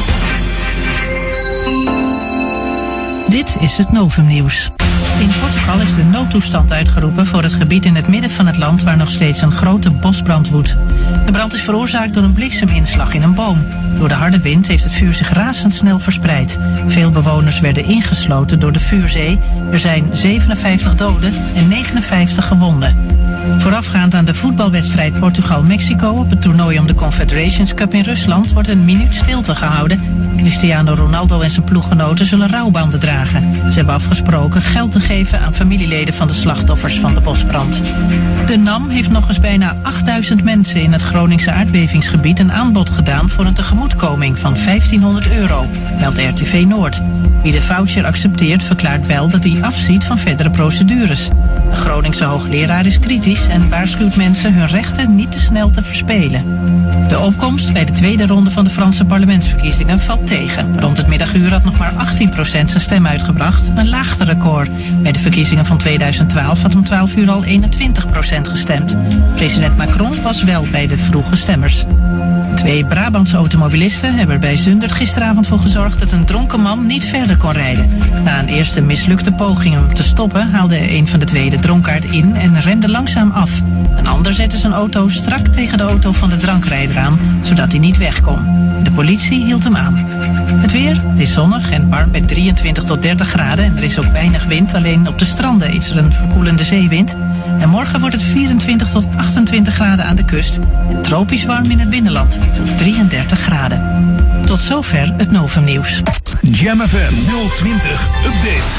S15: Dit is het Novumnieuws. In Portugal is de noodtoestand uitgeroepen voor het gebied in het midden van het land waar nog steeds een grote bosbrand woedt. De brand is veroorzaakt door een blikseminslag in een boom. Door de harde wind heeft het vuur zich razendsnel verspreid. Veel bewoners werden ingesloten door de vuurzee. Er zijn zevenenvijftig doden en negenenvijftig gewonden. Voorafgaand aan de voetbalwedstrijd Portugal-Mexico op het toernooi om de Confederations Cup in Rusland wordt een minuut stilte gehouden. Cristiano Ronaldo en zijn ploeggenoten zullen rouwbanden dragen. Ze hebben afgesproken geld te geven aan familieleden van de slachtoffers van de bosbrand. De N A M heeft nog eens bijna achtduizend mensen in het Groningse aardbevingsgebied een aanbod gedaan voor een tegemoetkoming van vijftienhonderd euro, meldt R T V Noord. Wie de voucher accepteert verklaart wel dat hij afziet van verdere procedures. De Groningse hoogleraar is kritisch en waarschuwt mensen hun rechten niet te snel te verspelen. De opkomst bij de tweede ronde van de Franse parlementsverkiezingen valt tegen. Rond het middaguur had nog maar achttien procent zijn stem uitgebracht, een laagste record. Bij de verkiezingen van tweeduizend twaalf had om twaalf uur al eenentwintig procent gestemd. President Macron was wel bij de vroege stemmers. Twee Brabantse automobilisten hebben er bij Zundert gisteravond voor gezorgd dat een dronken man niet verder kon rijden. Na een eerste mislukte poging om te stoppen haalde een van de twee de dronkaard in en remde langzaam af. Een ander zette zijn auto strak tegen de auto van de drankrijder aan, zodat hij niet weg kon. De politie hield hem aan. Het weer, het is zonnig en warm bij drieëntwintig tot dertig graden en er is ook weinig wind, alleen op de stranden is er een verkoelende zeewind. En morgen wordt het vierentwintig tot achtentwintig graden aan de kust en tropisch warm in het binnenland tot drieëndertig graden. Tot zover het Novum Nieuws.
S1: Jam F M nul twintig Update.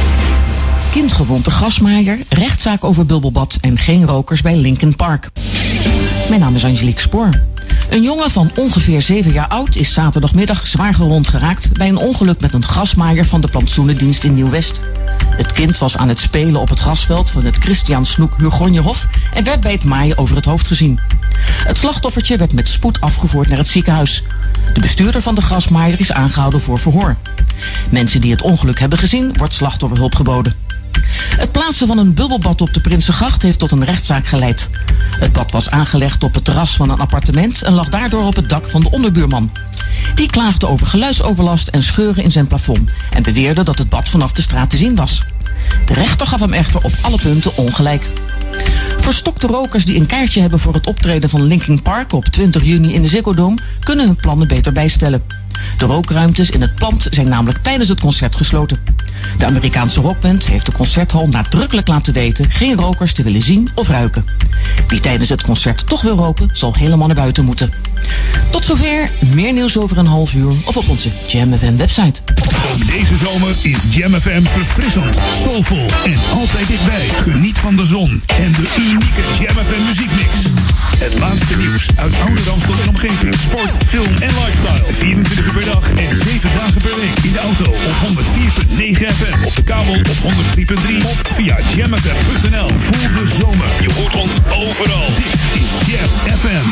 S20: Kindgewond de grasmaaier, rechtszaak over bubbelbad en geen rokers bij Linkin Park. Mijn naam is Angelique Spoor. Een jongen van ongeveer zeven jaar oud is zaterdagmiddag zwaar gewond geraakt bij een ongeluk met een grasmaaier van de plantsoenendienst in Nieuw-West. Het kind was aan het spelen op het grasveld van het Christian Snoek Hurgonjehof en werd bij het maaien over het hoofd gezien. Het slachtoffertje werd met spoed afgevoerd naar het ziekenhuis. De bestuurder van de grasmaaier is aangehouden voor verhoor. Mensen die het ongeluk hebben gezien, wordt slachtofferhulp geboden. Het plaatsen van een bubbelbad op de Prinsengracht heeft tot een rechtszaak geleid. Het bad was aangelegd op het terras van een appartement en lag daardoor op het dak van de onderbuurman. Die klaagde over geluidsoverlast en scheuren in zijn plafond en beweerde dat het bad vanaf de straat te zien was. De rechter gaf hem echter op alle punten ongelijk. Verstokte rokers die een kaartje hebben voor het optreden van Linkin Park op twintig juni in de Ziggo Dome kunnen hun plannen beter bijstellen. De rookruimtes in het pand zijn namelijk tijdens het concert gesloten. De Amerikaanse rockband heeft de concerthal nadrukkelijk laten weten geen rokers te willen zien of ruiken. Wie tijdens het concert toch wil roken, zal helemaal naar buiten moeten. Tot zover, meer nieuws over een half uur of op onze Jam F M website.
S1: Ook deze zomer is Jam F M verfrissend, soulvol en altijd dichtbij. Geniet van de zon en de unieke Jam F M muziekmix. Het laatste nieuws uit oude Ramstel en omgeving. Sport, film en lifestyle. vierentwintig uur per dag en zeven dagen per week. In de auto op honderd vier komma negen F M. Op de kabel op honderd drie komma drie. Of via jam f m punt n l. Voel de zomer. Je hoort ons overal. Dit is Jam F M.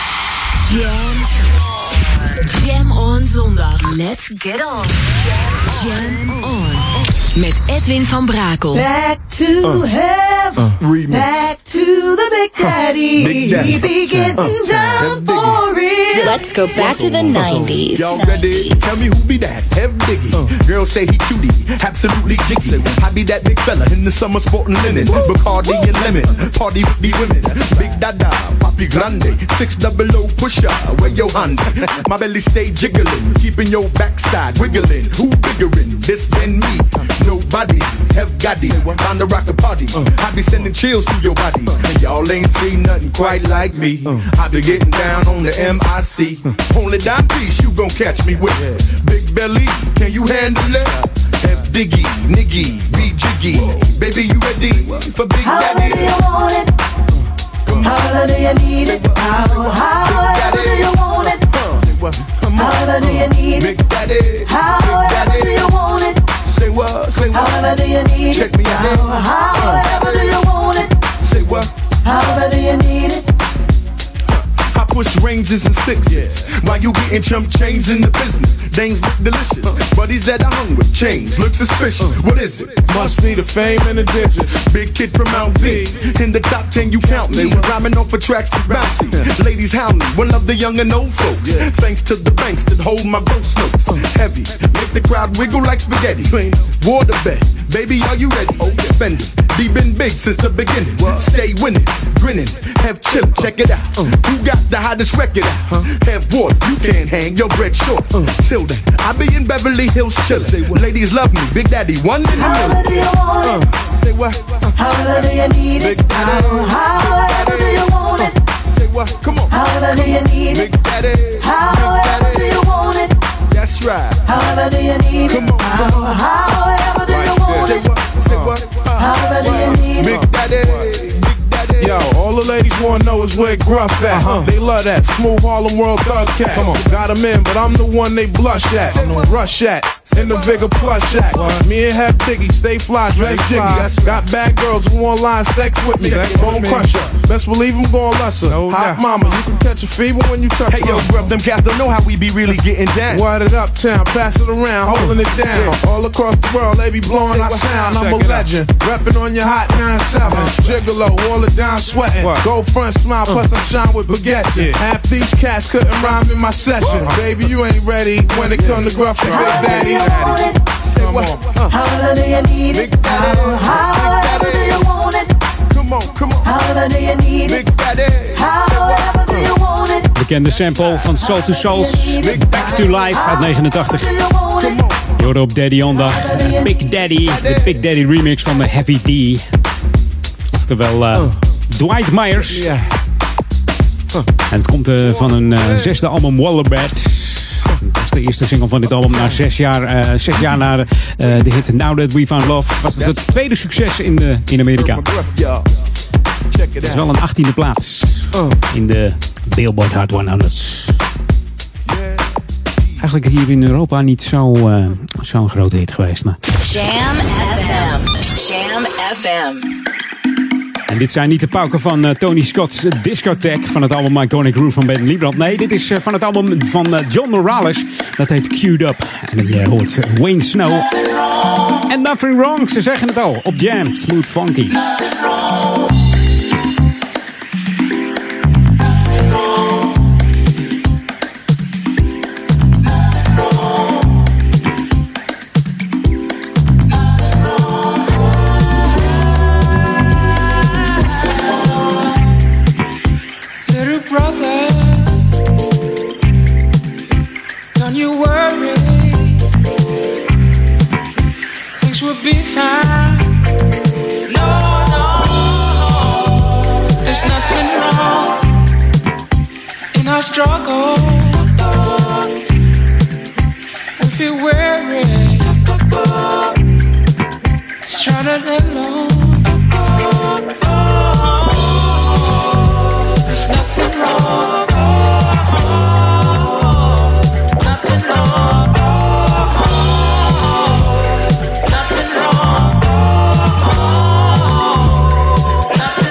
S2: Jam. Jam on zondag. Let's get on. Jam on. Met Edwin van Brakel.
S10: Back to uh, heaven. Uh, Back to the Big Daddy. Uh, Big Daddy. He be getting uh, down uh, for real.
S4: Let's go back to the nineties.
S11: Y'all ready? Tell me who be that? Have Biggie. Uh, Girls say he cutie, absolutely jiggy. I be that big fella in the summer sporting linen. Bacardi and lemon, party with the women. Big Dada, Papi Grande, six double O pusher. Where your Honda? My belly stay jiggling, keeping your backside wiggling. Who biggerin'? This than me? Nobody have got it. Time to rock a party. I be sending chills through your body. And y'all ain't seen nothing quite like me. I be getting down on the M I C. Only dime piece you gon' catch me with. Big belly, can you handle it? Have Diggy, Niggy, be jiggy. Baby, you ready for Big
S10: How
S11: Daddy?
S10: How do you want it? How do you need it? How, how do you want it? How do you need it?
S11: Big Daddy,
S10: However do you want it?
S11: Say what? Say what?
S10: However do you need
S11: Check
S10: it?
S11: me out.
S10: However do you want it?
S11: Say what?
S10: However do you need it?
S11: I push ranges and sixes while you getting chump change in the business. Dames look delicious, buddies that are hungry. Chains look suspicious. What is it? Must be the fame and the digits. Big kid from Mount V. In the top ten, you count me. Rhyming off for tracks that's bouncy. Ladies hound me. One of the young and old folks. Thanks to the banks that hold my ghost notes. Heavy, make the crowd wiggle like spaghetti. Waterbed, baby, are you ready? Spend it. Be been big since the beginning. Stay winning, grinning, have chillin'. Check it out. Who got the hottest record out? Have water, you can't hang your bread short. Till then, I be in Beverly Hills chillin'. Ladies love me, Big Daddy, one in a million.
S10: However do you want it?
S11: Say what?
S10: However do you need it?
S11: Big Daddy.
S10: However do you want it?
S11: Say what? Come on.
S10: However do you need it?
S11: Big Daddy.
S10: However do you want it?
S6: That's right.
S8: However do you need
S6: Come
S8: it?
S6: on, come on.
S8: However do you want
S6: Say
S8: it?
S6: what? Say what?
S8: However do you need
S6: Big
S8: it?
S6: Daddy.
S21: Yo, all the ladies wanna know is where Gruff at. Uh-huh. They love that smooth Harlem World thug cat. Come on, got him in, but I'm the one they blush at, rush at, in the Vigor plush at. Me and Hep Diggy stay fly, dress jiggy. Got bad girls who want line sex with me. Bone crusher, best believe I'm gon' lust her. Hot mama, you can catch a fever when you touch her.
S6: Hey yo, Gruff, them cats don't know how we be really getting down.
S21: Wide it up town, pass it around, holding it down. All across the world, they be blowing our sound. I'm a legend, reppin' on your hot nine seven. Gigolo, all the down sweating. Go front smile, plus I shine with baguette. Half these cats couldn't rhyme in my session. Baby, you ain't ready when it come to Gruff and Big Daddy.
S8: Say what? However do you need it? However do you want it?
S6: Come on, come on.
S8: However do you need it? However do you want it?
S9: Bekende sample van Soul to Souls, Back to Life uit negenentachtig. Je hoorde op Daddy Ondag Big Daddy, de Big Daddy remix van de Heavy D. Oftewel uh, Dwight Myers. En het komt uh, van een uh, zesde album Wallabat. Dat is de eerste single van dit album. Na zes jaar, uh, zes jaar na de, uh, de hit Now That We Found Love was het het tweede succes in, de, in Amerika. Het is wel een achttiende plaats in de Billboard Hot honderd. Eigenlijk hier in Europa niet zo, uh, zo'n grote hit geweest. Maar.
S4: Jam F M. Jam F M.
S9: En dit zijn niet de pauken van uh, Tony Scott's Discotheque van het album Iconic Groove van Ben Liebrand. Nee, dit is uh, van het album van uh, John Morales. Dat heet Queued Up. En je uh, hoort uh, Wayne Snow. En Nothing Wrong, ze zeggen het al. Op Jam, Smooth Funky.
S8: Struggle, we feel weary, just trying to live alone. There's nothing wrong, nothing wrong, nothing wrong, nothing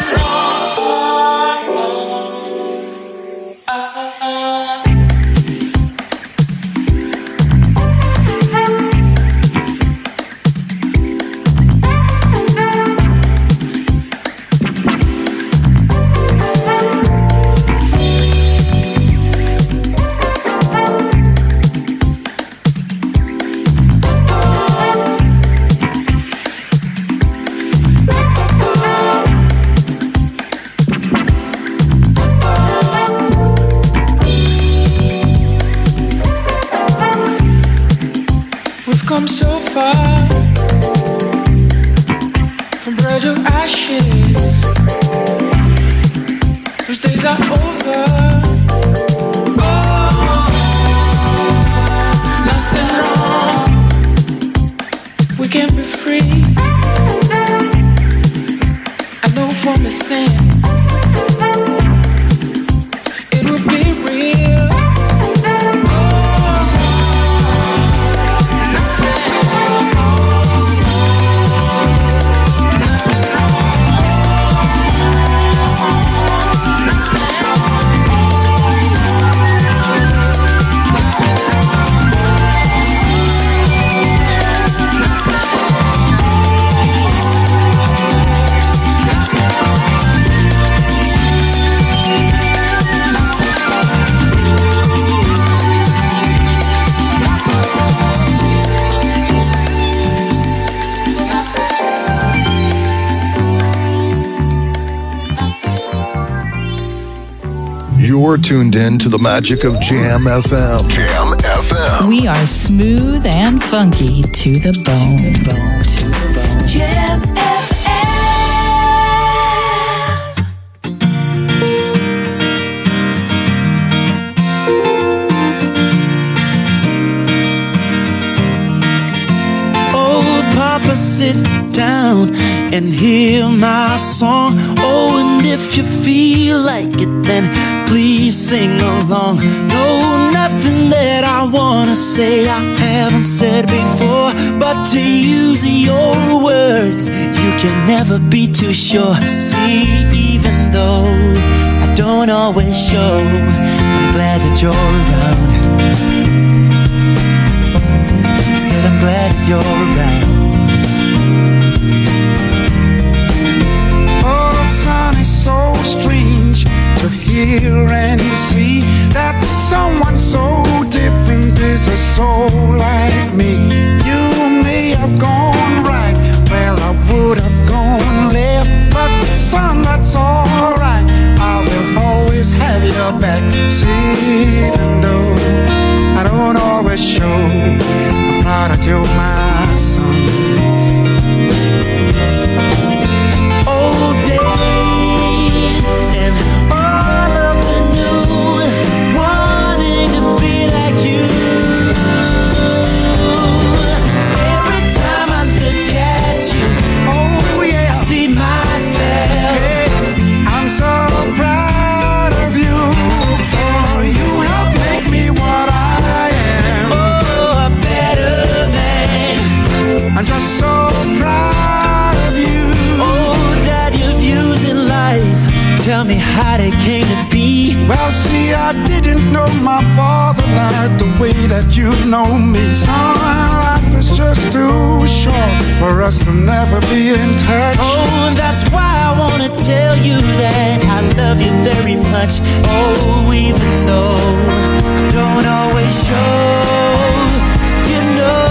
S8: come so far from bread to ashes. Those days are over. Oh, nothing wrong. We can be free. I know from within it will be real.
S5: You're tuned in to the magic of Jam F M. Jam F M.
S15: We are smooth and funky to the bone. To the bone. To the bone.
S8: Jam F M. and hear my song. Oh, and if you feel like it, then please sing along. No, nothing that I wanna say I haven't said before, but to use your words, you can never be too sure. See, even though I don't always show, I'm glad that you're around. I said I'm glad that you're around. Oh, the sun is so strange to hear and see that someone so different is a soul like me. You may have gone right, well I would have gone left, but son, that's alright. I will always have your back. See, even though I don't always show, I'm proud that you're my son. Old days and all of the new, wanting to be like you. Every time I look at you, oh yeah, I see myself. Hey, I'm so proud of you, for you help make me what I am. Oh, a better man. I'm just so proud of you. Oh, that your views in life, tell me how they came to be. Well, see, I didn't know my father like the way that you know me. Son, life is just too short for us to never be in touch. Oh, that's why I wanna tell you that I love you very much. Oh, even though I don't always show, you know.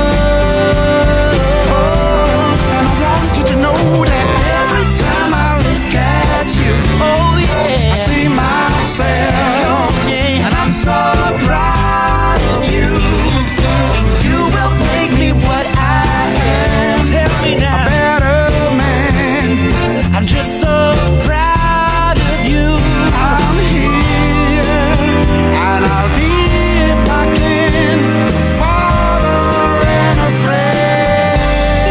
S8: Oh, and I want you to know that every time I look at you, oh yeah, I see myself, yeah, and I'm so proud of you. You will make me what I am. Tell me now, a better man. I'm just so proud of you. I'm here, and I'll be, if I can, a father and a friend.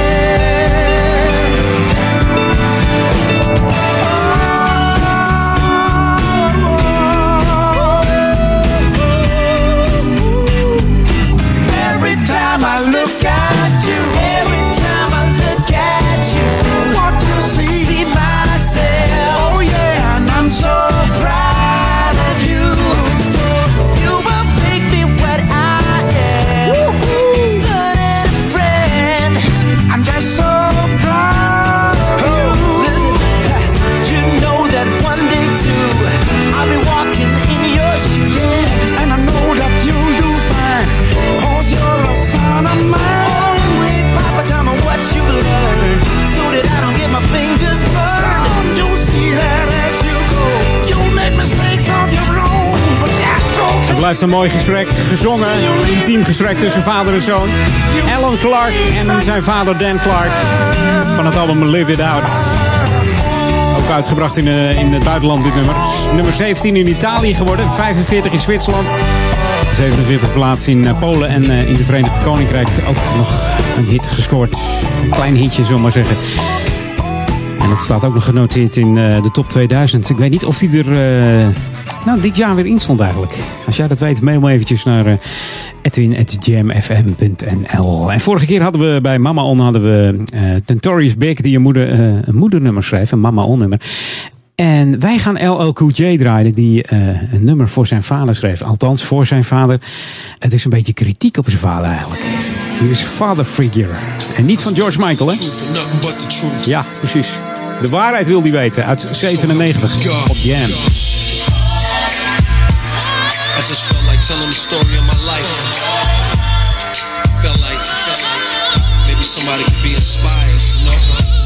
S8: Every time I look at you, every time I look at you, what you see, see myself. Oh yeah, and I'm so proud of you. You will make me what I am, son and a friend. I'm just so proud of you. Listen, you know that one day too, I'll be walking in your shoes, yeah, and I know that you'll do fine, 'cause you're a son of mine. Oh, wait, Papa, tell me what you learned, so that I don't get my fingers burned. Son, you'll see that as you go. You'll make mistakes of your own, but that's okay.
S9: Het blijft een mooi gesprek, gezongen, een intiem gesprek tussen vader en zoon. Alan Clark en zijn vader Dan Clark van het album Live It Out. Ook uitgebracht in, uh, in het buitenland dit nummer. Nummer zeventien in Italië geworden, vijfenveertig in Zwitserland, zevenenveertig plaats in uh, Polen en uh, in de Verenigd Koninkrijk ook nog een hit gescoord. Een klein hitje, zullen we maar zeggen. En het staat ook nog genoteerd in uh, de top tweeduizend. Ik weet niet of die er uh, nou, dit jaar weer in stond eigenlijk. Als jij dat weet, mail me eventjes naar uh, edwin at jam f m punt n l. En vorige keer hadden we bij Mama On hadden we uh, Notorious Big die een, moeder, uh, een moedernummer schreef, een Mama On nummer. En wij gaan L L Cool J draaien die uh, een nummer voor zijn vader schreef. Althans, voor zijn vader. Het is een beetje kritiek op zijn vader eigenlijk. Hier is Father Figure. En niet van George Michael, hè? Ja, precies. De waarheid wil hij weten. Uit zevenennegentig op Jam.
S3: I just felt like telling the story of my life. Felt like, felt like maybe somebody could be inspired, you know?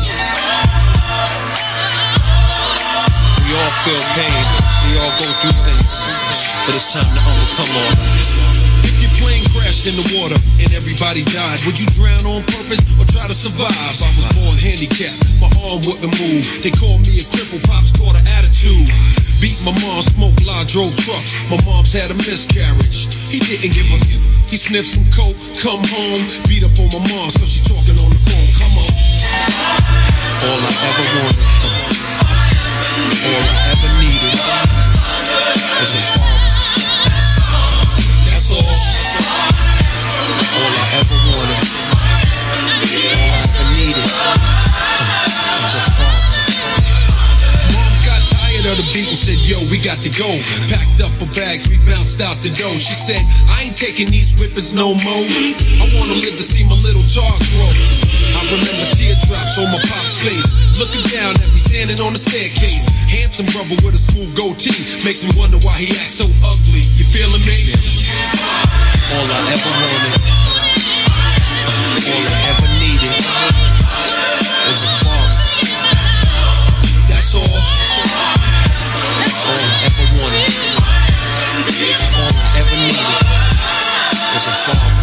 S3: We all feel pain, we all go through things, but it's time to overcome all. If your plane crashed in the water and everybody died, would you drown on purpose or try to survive? I was born handicapped, my arm wouldn't move. They called me a cripple, pops caught an attitude. Beat my mom, smoked lie, drove trucks. My mom's had a miscarriage. He didn't give a f. He sniffed some coke, come home, beat up on my mom, so she talking on the phone. Come on. All I ever wanted, all I ever needed was a father. That's all. All I ever wanted, all I ever needed was a father. Mom's got tired of the beat and said, yo, we got to go. Packed up her bags, we bounced out the door. She said, I ain't taking these whippers no more. I wanna live to see my little tar grow. I remember teardrops on my pop's face, looking down at me standing on the staircase. Handsome brother with a smooth goatee, makes me wonder why he acts so ugly. You feeling me? All I ever wanted, all I ever needed was a father. That's all. All I ever wanted, all I ever needed was a father.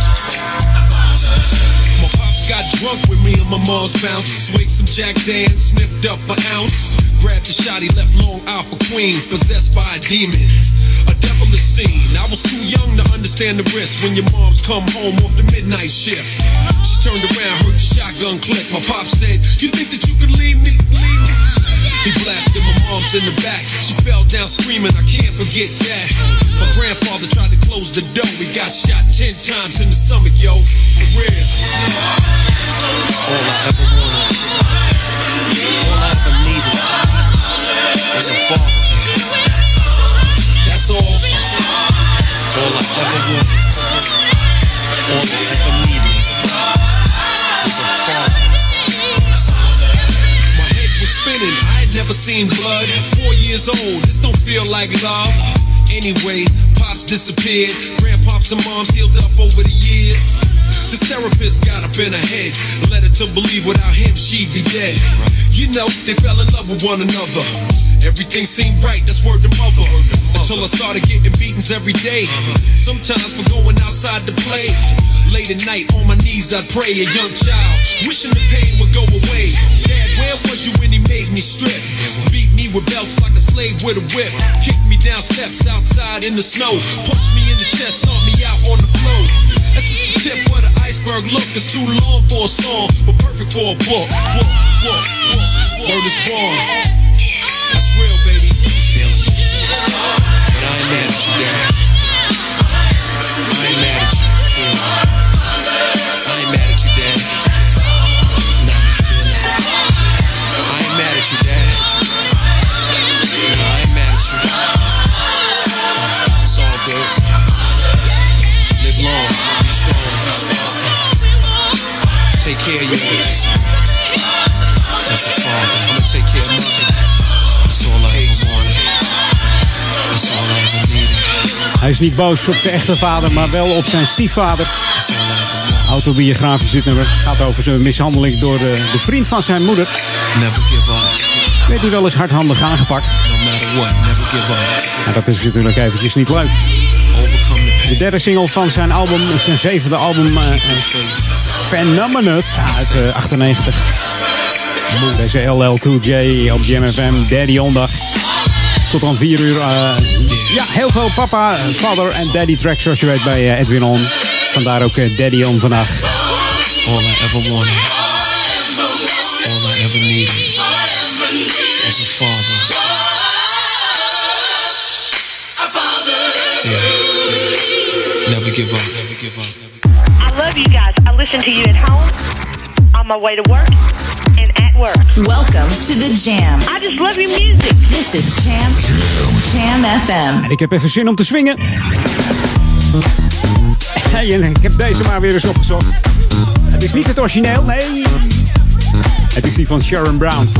S3: My pops got drunk with me and my mom's bounce. Swig some Jack Daniels, sniffed up an ounce. Grabbed the shot, he left Long Island for Queens, possessed by a demon. A devilish scene. I was too young to understand the risk when your moms come home off the midnight shift. She turned around, heard the shotgun click. My pop said, you think that you could leave me? Leave me? He blasted my mom's in the back. She fell down screaming, I can't forget that. My grandfather tried to close the door. He got shot ten times in the stomach, yo. For real. All I ever wanted, all I ever needed was a father. That's all. All I ever wanted, all I ever needed was a father. My head was spinning, I had never seen blood. Four years old, this don't feel like love. Anyway, pops disappeared. Grandpops and moms healed up over the years. This therapist got up in her head, led her to believe without him she'd be dead. You know, they fell in love with one another. Everything seemed right, that's word to mother. Until I started getting beatings every day. Sometimes for going outside to play. Late at night on my knees I'd pray, a young child, wishing the pain would go away. Dad, where was you when he made me strip? Beat me with belts like a slave with a whip. Kicked me down steps outside in the snow. Punched me in the chest, knocked me out on the floor. That's just the tip of the iceberg. Look, it's too long for a song, but perfect for a book. Book, book, book. Word is born. That's real, baby. But I ain't mad at you, Dad. I ain't mad at you. I ain't mad at you, Dad. Nah, I ain't mad at you, Dad. No, I ain't mad at you. It's all good. Live long, be strong, be strong. Take care of your kids. That's a father. I'ma take care of mother. That's all I ever wanted. That's all I ever needed.
S9: Hij is niet boos op zijn echte vader, maar wel op zijn stiefvader. Autobiografisch dit nummer. Het gaat over zijn mishandeling door de, de vriend van zijn moeder.
S3: Never give up.
S9: Werd hij wel eens hardhandig aangepakt.
S3: No matter what, never give up.
S9: En dat is natuurlijk eventjes niet leuk. De derde single van zijn album, zijn zevende album, uh, uh, Phenomenon uit uh, achtennegentig. Deze L L Cool J op Jam F M, Daddy Ondag. Tot aan vier uur. Uh, ja, heel veel papa, father en daddy tracks zoals je weet bij uh, Edwin On. Vandaar ook uh, Daddy On vandaag.
S3: All I ever wanted, all I ever needed was a father. Yeah. Never give up, never give up.
S7: I love you guys. I listen to you at home, on my way to work, and at work.
S4: Welcome to the Jam.
S7: I just love your music.
S4: This is Jam, Jam F M.
S9: En ik heb even zin om te swingen. Hey, en ik heb deze maar weer eens opgezocht. Het is niet het origineel, nee. Het is die van Sharon Brown.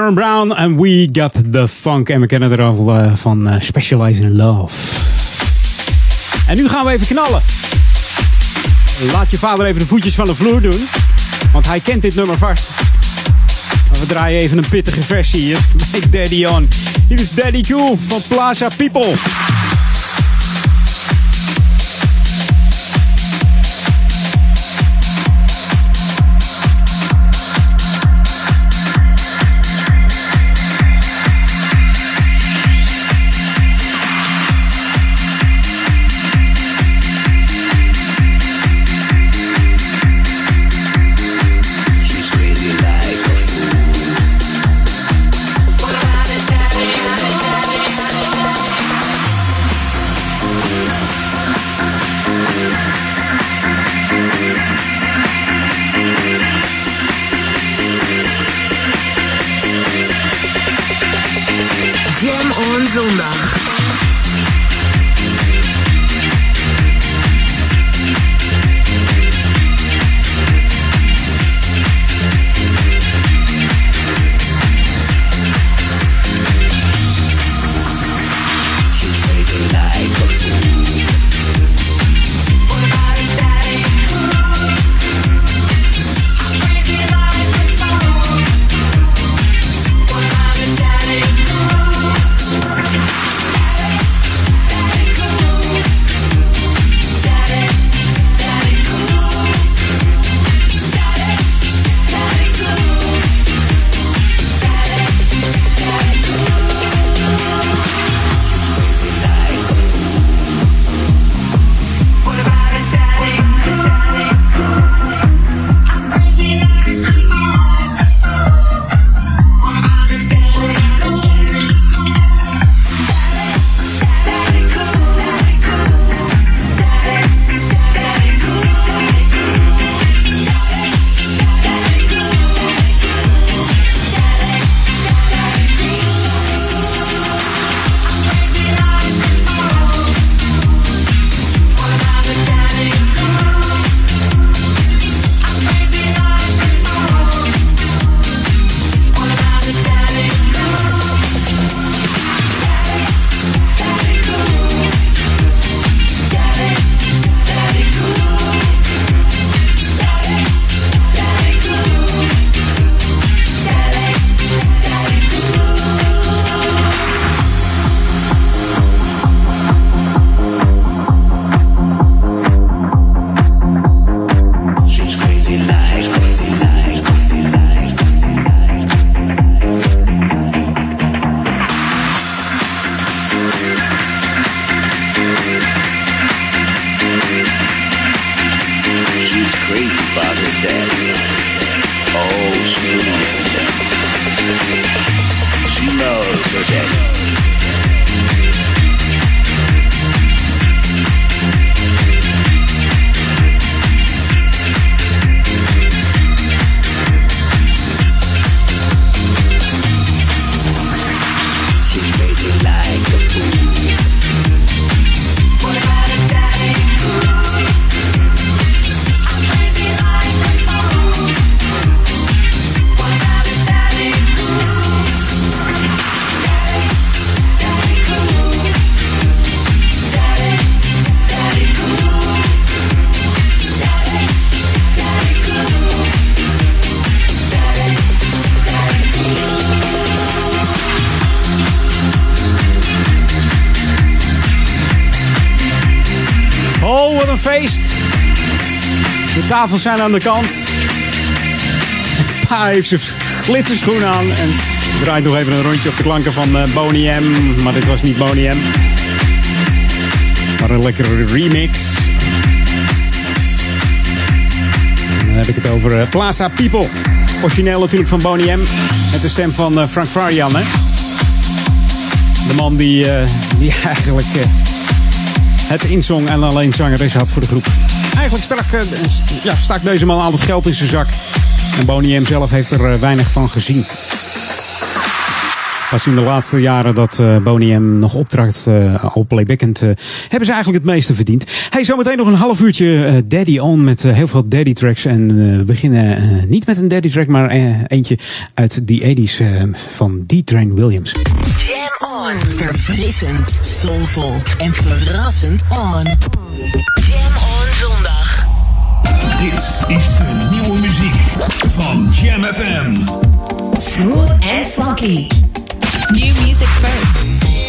S9: Aaron Brown en We Got The Funk. En we kennen er al uh, van uh, Specialize in Love. En nu gaan we even knallen. Laat je vader even de voetjes van de vloer doen. Want hij kent dit nummer vast. Maar we draaien even een pittige versie hier. Bij Daddy On. Hier is Daddy Cool van Plaza People.
S2: Zondag.
S9: De tafels zijn aan de kant. Pa heeft zijn glitterschoen aan en draait nog even een rondje op de klanken van uh, Boney M. Maar dit was niet Boney M. Maar een lekkere remix. En dan heb ik het over uh, Plaza People. Origineel natuurlijk van Boney M. Met de stem van uh, Frank Farian. Hè? De man die, uh, die eigenlijk uh, het inzong en alleen zangeres had voor de groep. Eigenlijk strak, uh, ja, stak deze man al het geld in zijn zak. En Boney M zelf heeft er uh, weinig van gezien. Pas in de laatste jaren dat uh, Boney M nog optrad uh, op playbackend, uh, hebben ze eigenlijk het meeste verdiend. Hey, zometeen nog een half uurtje uh, Daddy On met uh, heel veel Daddy tracks. En uh, we beginnen uh, niet met een Daddy track, maar uh, eentje uit de tachtiger uh, van D-Train Williams.
S2: Jam On. Verfrissend, soulvol en verrassend on. Jam On zondag.
S1: Dit is de nieuwe muziek van Jam F M.
S2: Smooth and funky. New music first.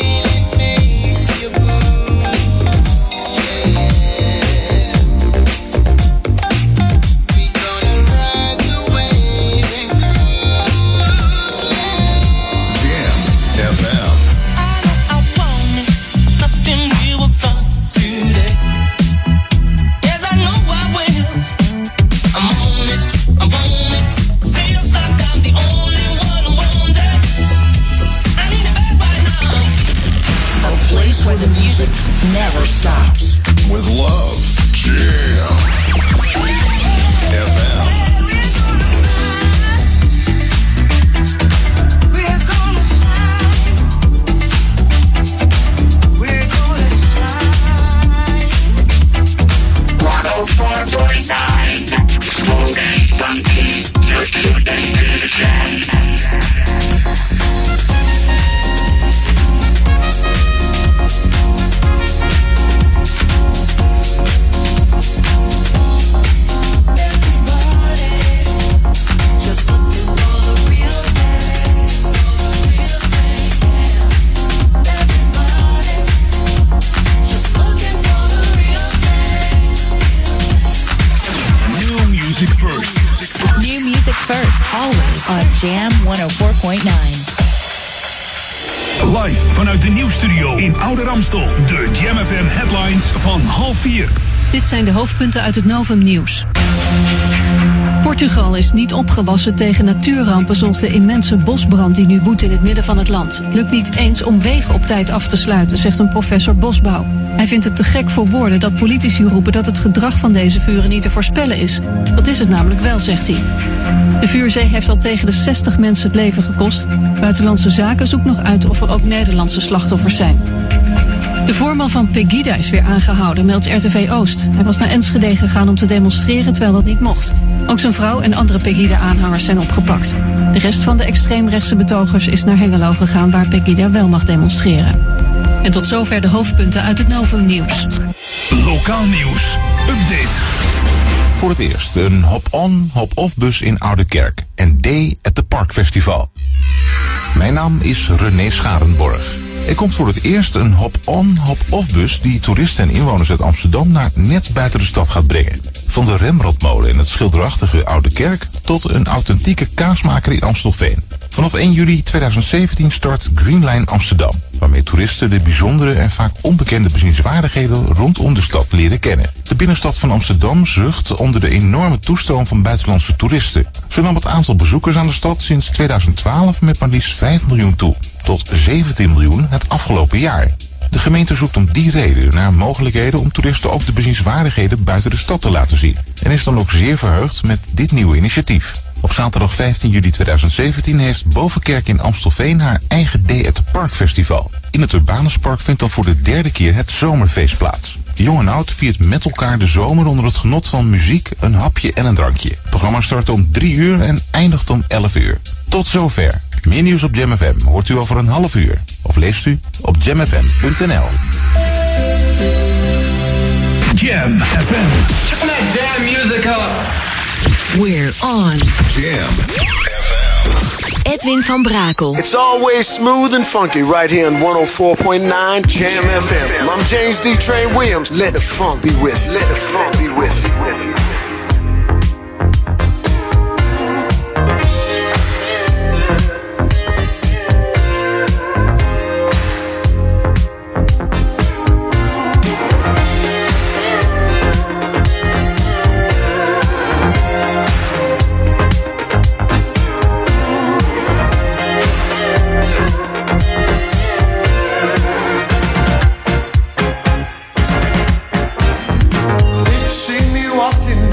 S6: Where the music never stops. With love, Jam F M. We're gonna shine. We're gonna shine. one oh four point nine. Smooth and funky. You're tuned into the Jam.
S2: First, always on Jam one oh four point nine.
S1: Live vanuit de nieuwsstudio in Oude Ramstel. De Jam F M headlines van half vier.
S13: Dit zijn de hoofdpunten uit het Novum Nieuws. Portugal is niet opgewassen tegen natuurrampen zoals de immense bosbrand die nu woedt in het midden van het land. Lukt niet eens om wegen op tijd af te sluiten, zegt een professor bosbouw. Hij vindt het te gek voor woorden dat politici roepen dat het gedrag van deze vuren niet te voorspellen is. Dat is het namelijk wel, zegt hij. De vuurzee heeft al tegen de zestig mensen het leven gekost. Buitenlandse Zaken zoekt nog uit of er ook Nederlandse slachtoffers zijn. De voorman van Pegida is weer aangehouden, meldt R T V Oost. Hij was naar Enschede gegaan om te demonstreren terwijl dat niet mocht. Ook zijn vrouw en andere Pegida-aanhangers zijn opgepakt. De rest van de extreemrechtse betogers is naar Hengelo gegaan waar Pegida wel mag demonstreren. En tot zover de hoofdpunten uit het Novum Nieuws.
S1: Lokaal nieuws. Update.
S16: Voor het eerst een hop-on, hop-off bus in Oudekerk en Day at the Park Festival. Mijn naam is René Scharenborg. Er komt voor het eerst een hop-on, hop-off bus die toeristen en inwoners uit Amsterdam naar net buiten de stad gaat brengen. Van de Rembrandtmolen in het schilderachtige Oudekerk tot een authentieke kaasmaker in Amstelveen. Vanaf één juli tweeduizend zeventien start Greenline Amsterdam, waarmee toeristen de bijzondere en vaak onbekende bezienswaardigheden rondom de stad leren kennen. De binnenstad van Amsterdam zucht onder de enorme toestroom van buitenlandse toeristen. Zo nam het aantal bezoekers aan de stad sinds tweeduizend twaalf met maar liefst vijf miljoen toe, tot zeventien miljoen het afgelopen jaar. De gemeente zoekt om die reden naar mogelijkheden om toeristen ook de bezienswaardigheden buiten de stad te laten zien. En is dan ook zeer verheugd met dit nieuwe initiatief. Op zaterdag vijftien juli tweeduizend zeventien heeft Bovenkerk in Amstelveen haar eigen Day at the Park Festival. In het Urbanuspark vindt dan voor de derde keer het zomerfeest plaats. Jong en oud viert met elkaar de zomer onder het genot van muziek, een hapje en een drankje. Het programma start om drie uur en eindigt om elf uur. Tot zover. Meer nieuws op Jam F M hoort u over een half uur. Of leest u op jam f m punt n l.
S1: Jam F M.
S14: Turn that damn music up.
S2: We're on.
S5: Jam F M.
S2: Edwin van Brakel.
S11: It's always smooth and funky right here on one oh four point nine Jam F M. I'm James D. Train Williams. Let the funk be with you. Let the funk be with you.
S6: See me walking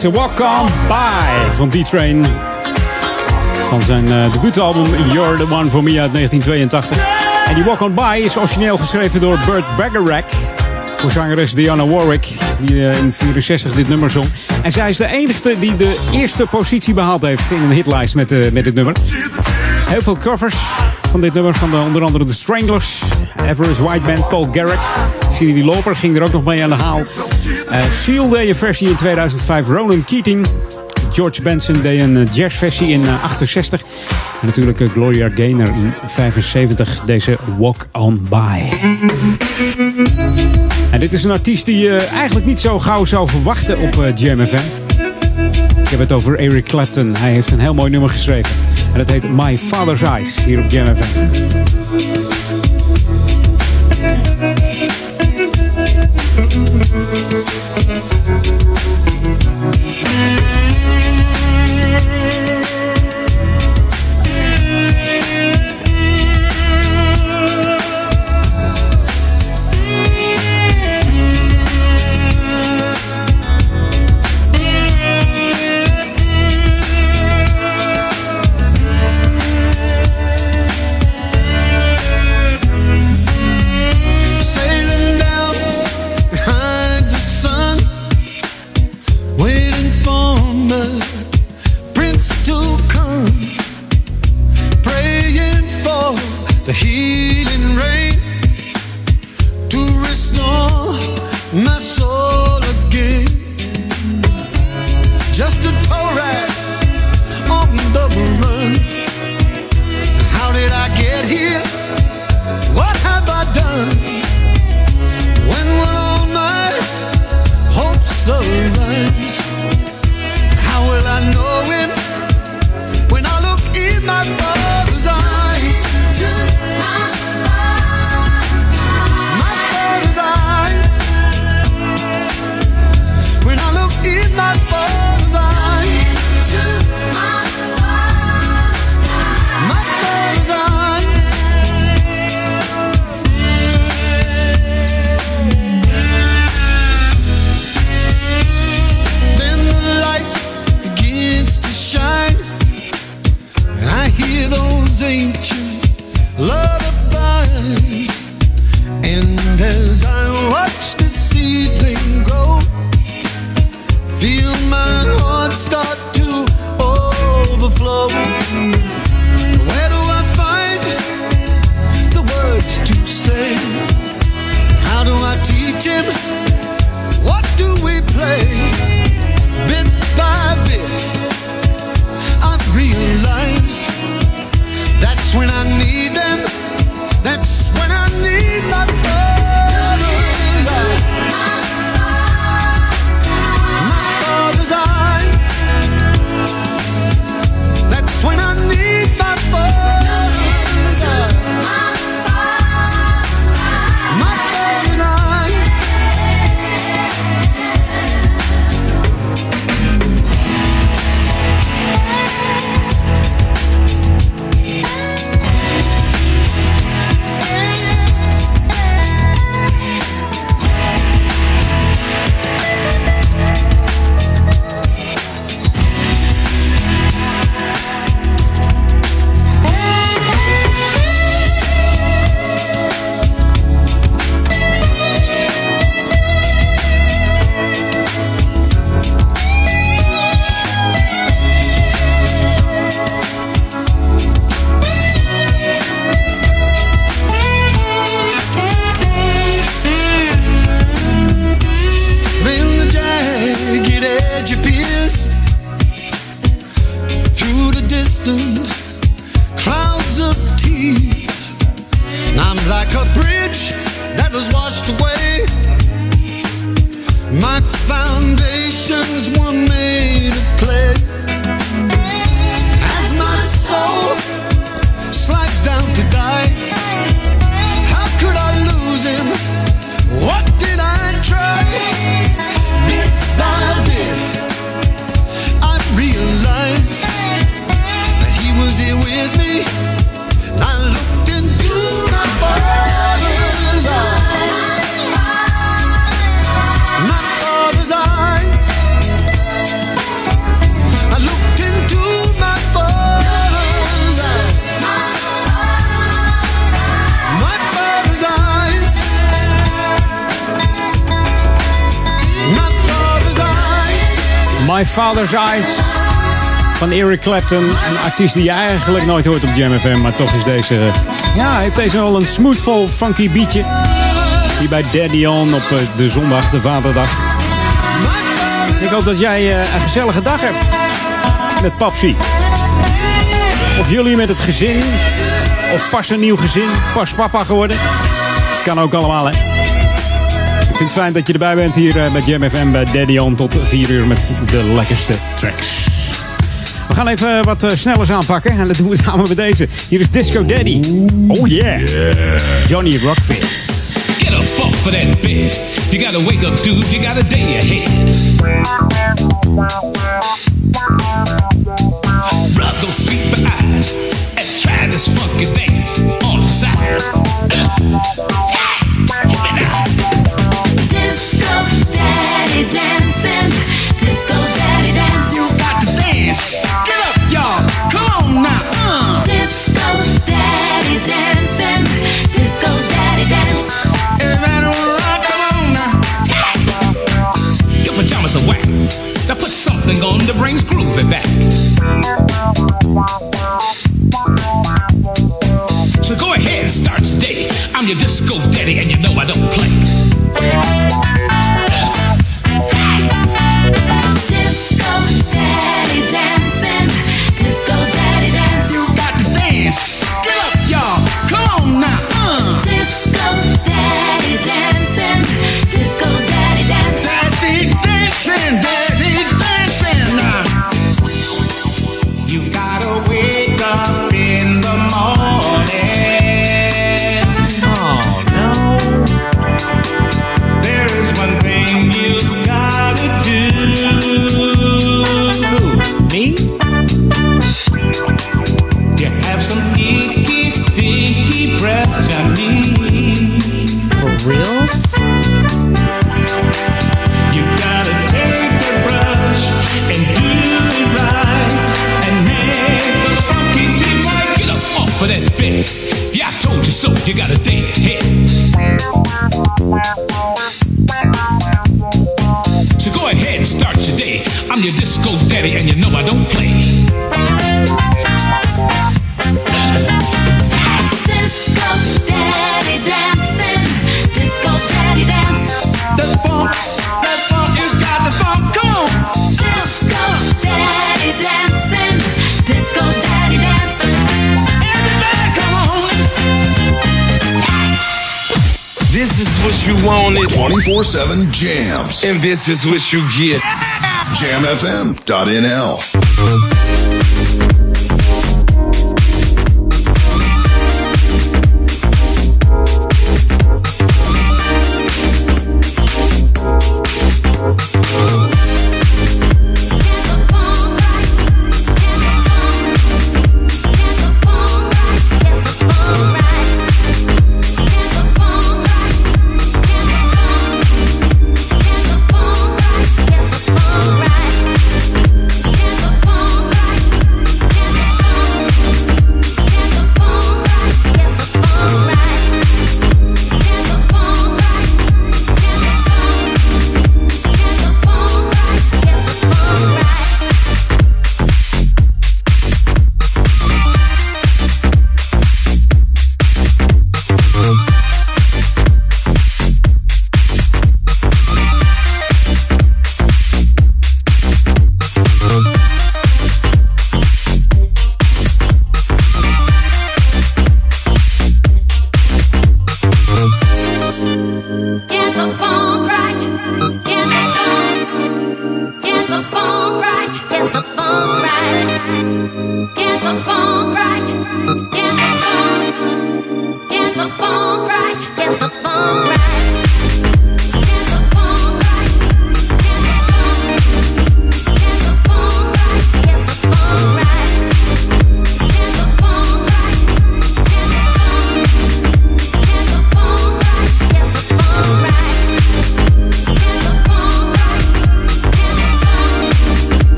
S9: It's a Walk On By van D-Train. Van zijn uh, debuutalbum You're the One For Me uit negentien tweeëntachtig. En die Walk On By is origineel geschreven door Burt Bacharach. Voor zangeres Dionne Warwick, die uh, in vierenzestig dit nummer zong. En zij is de enigste die de eerste positie behaald heeft in een hitlijst met, uh, met dit nummer. Heel veel covers van dit nummer, van de, onder andere The Stranglers, Everest White Band, Paul Garrick. Cindy Lauper ging er ook nog mee aan de haal. Uh, Seal deed een versie in tweeduizend vijf, Ronan Keating. George Benson deed een jazzversie in uh, achtenzestig. En natuurlijk uh, Gloria Gaynor in vijfenzeventig, deze Walk On By. En dit is een artiest die je uh, eigenlijk niet zo gauw zou verwachten op uh, Jam F M. Ik heb het over Eric Clapton. Hij heeft een heel mooi nummer geschreven. En dat heet My Father's Eyes, hier op Jam F M.
S6: When I look in my father's eyes,
S9: My Father's Eyes van Eric Clapton. Een artiest die je eigenlijk nooit hoort op Jam F M, maar toch is deze, ja, heeft deze wel een smoothful, funky beatje. Hier bij Daddy On op de zondag, de vaderdag. Ik hoop dat jij een gezellige dag hebt met Papsie. Of jullie met het gezin, of pas een nieuw gezin, pas papa geworden. Kan ook allemaal, hè. Ik vind het fijn dat je erbij bent hier met Jam F M bij Daddy On tot vier uur met de lekkerste tracks. We gaan even wat uh, snellers aanpakken en dat doen we samen met deze. Hier is Disco Daddy. Oh yeah. yeah. Johnny Rockfits.
S3: Get up off of that bed. You gotta wake up, dude. You got a day ahead. Rub those sleepy eyes and try this funky dance on the side.
S10: Disco Daddy dancing. Disco Daddy dancing.
S3: You got to dance. Get up, y'all. Come on now. Uh.
S10: Disco Daddy dancing. Disco Daddy dance.
S3: Everybody rock, come on now. Your pajamas are whack. Now put something on that brings groovy back. So go ahead and start today. I'm your disco daddy and you know I don't play.
S10: Disco Daddy dancing. Disco Daddy dance.
S3: You got to dance. Get up, y'all. Come on now. Uh.
S10: Disco Daddy dancing. Disco Daddy dance.
S3: Daddy dancing. Daddy dancing. Uh.
S8: You gotta wake up in the morning.
S3: Oh no.
S8: There is one thing you gotta do.
S3: Who, me?
S8: You have some icky, sticky breath, Johnny.
S3: For reals?
S8: You gotta take the brush and do it right and make those funky teeth right.
S3: Get up off of that bed. Yeah, I told you so. You got a day ahead. So go ahead and start your day. I'm your disco daddy and you know I don't play.
S10: Disco Daddy dancing. Disco Daddy dance.
S8: The funk, that funk, you got the funk, come on.
S10: Disco Daddy dancing. Disco Daddy dance.
S8: Everybody come on.
S12: This is what you wanted.
S5: twenty-four seven jams.
S12: And this is what you get.
S5: jam f m dot n l.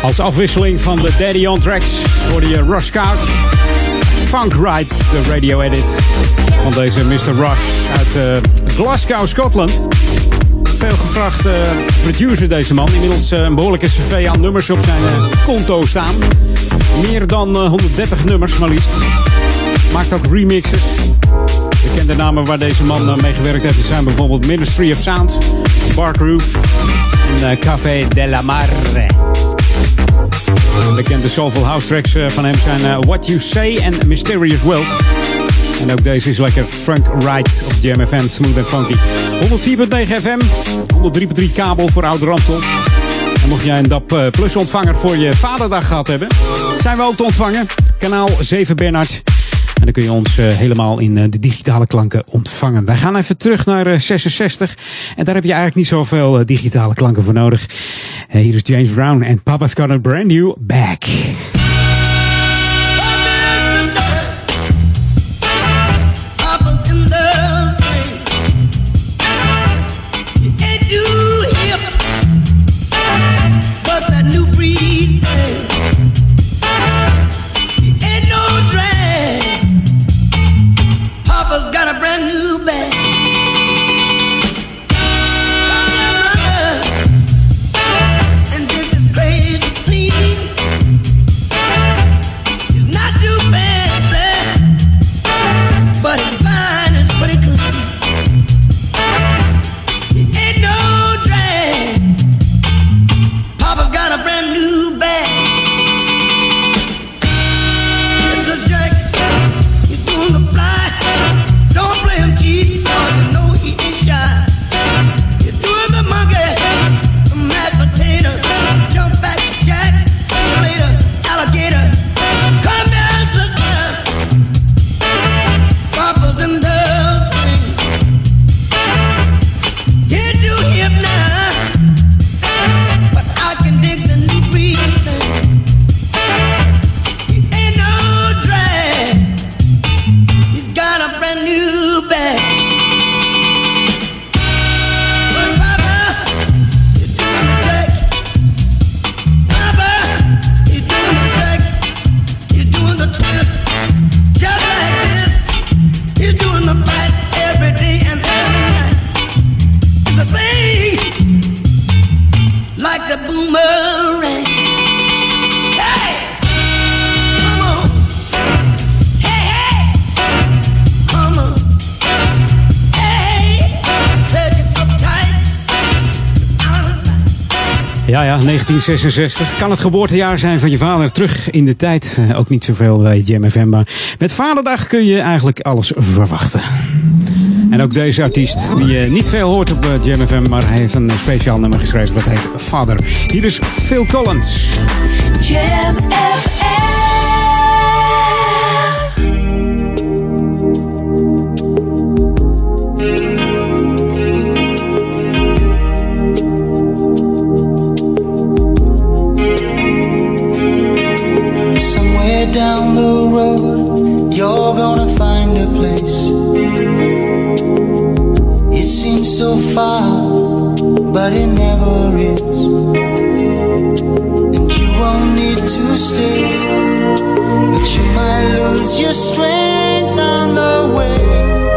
S9: Als afwisseling van de Daddy on Tracks hoorde je Rush Couch, Funk Ride, de radio edit van deze mister Rush uit uh, Glasgow, Scotland. Veel gevraagd uh, producer deze man. Inmiddels uh, een behoorlijke cv aan nummers op zijn uh, konto staan. Meer dan uh, honderddertig nummers maar liefst. Maakt ook remixes. Bekende namen waar deze man uh, mee gewerkt heeft zijn bijvoorbeeld Ministry of Sound, Bargroove en uh, Café de la Mare. Bekende soulful house tracks uh, van hem zijn uh, What You Say en Mysterious World. En ook deze is lekker Funk Ride op Jam F M, smooth en funky. honderd vier komma negen F M, honderd drie komma drie kabel voor Oude Ramstel. En mocht jij een D A B Plus ontvanger voor je vaderdag gehad hebben, zijn we ook te ontvangen. Kanaal zeven Bernhard. En dan kun je ons uh, helemaal in uh, de digitale klanken ontvangen. Wij gaan even terug naar uh, zesenzestig. En daar heb je eigenlijk niet zoveel uh, digitale klanken voor nodig. Uh, hier is James Brown en Papa's Got a Brand New Bag. Ja, ja, negentien zesenzestig. Kan het geboortejaar zijn van je vader. Terug in de tijd. Uh, ook niet zoveel bij Jam F M. Maar met Vaderdag kun je eigenlijk alles verwachten. En ook deze artiest, die je niet veel hoort op uh, Jam F M. Maar hij heeft een speciaal nummer geschreven. Dat heet Father. Hier is Phil Collins.
S2: Jam F M.
S8: Down the road, you're gonna find a place. It seems so far, but it never is. And you won't need to stay, but you might lose your strength on the way.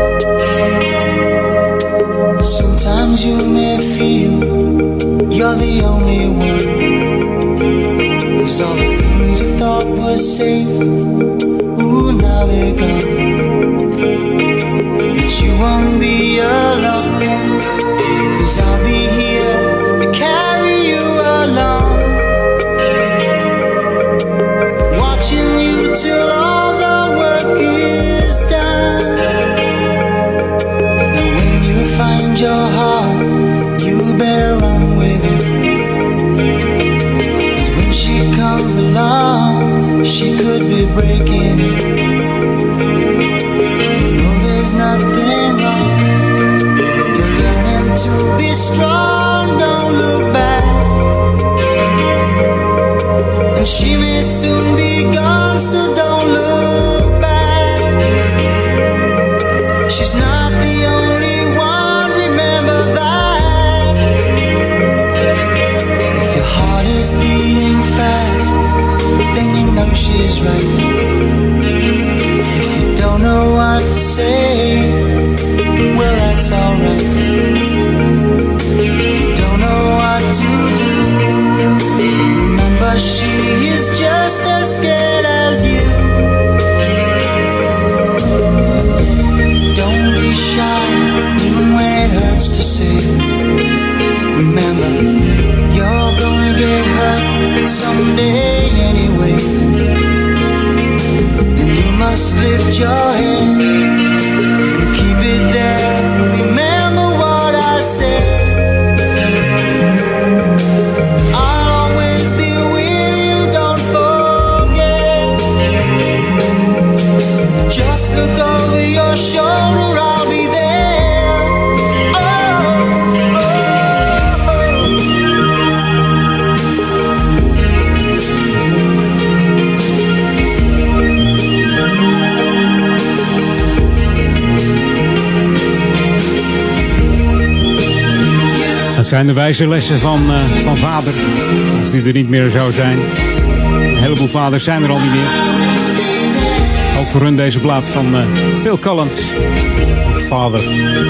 S8: Sometimes you may feel you're the only one, 'cause all the things you thought were safe, ooh, now they're gone. But you won't be alone, 'cause I'll be here to carry you along, watching you till all the work is done. And when you find your heart, you better run with it, 'cause when she comes along, she could be breaking it. You know there's nothing wrong, you're learning to be strong, don't look back. And she may soon be gone, so don't look back. She's not the only one, remember that. If your heart is beating fast, is right. If you don't know what to say, well, that's alright. Don't know what to do. Remember, she is just as scared as you. Don't be shy, even when it hurts to say. Remember, you're gonna get hurt someday anyway. And you must lift your head and keep it there. Remember what I said. I'll always be with you, don't forget. Just look over your shoulder, I'll be there.
S9: Dat zijn de wijze lessen van, uh, van vader. Als die er niet meer zou zijn. Een heleboel vaders zijn er al niet meer. Ook voor hun deze plaat van uh, Phil Collins. Vader.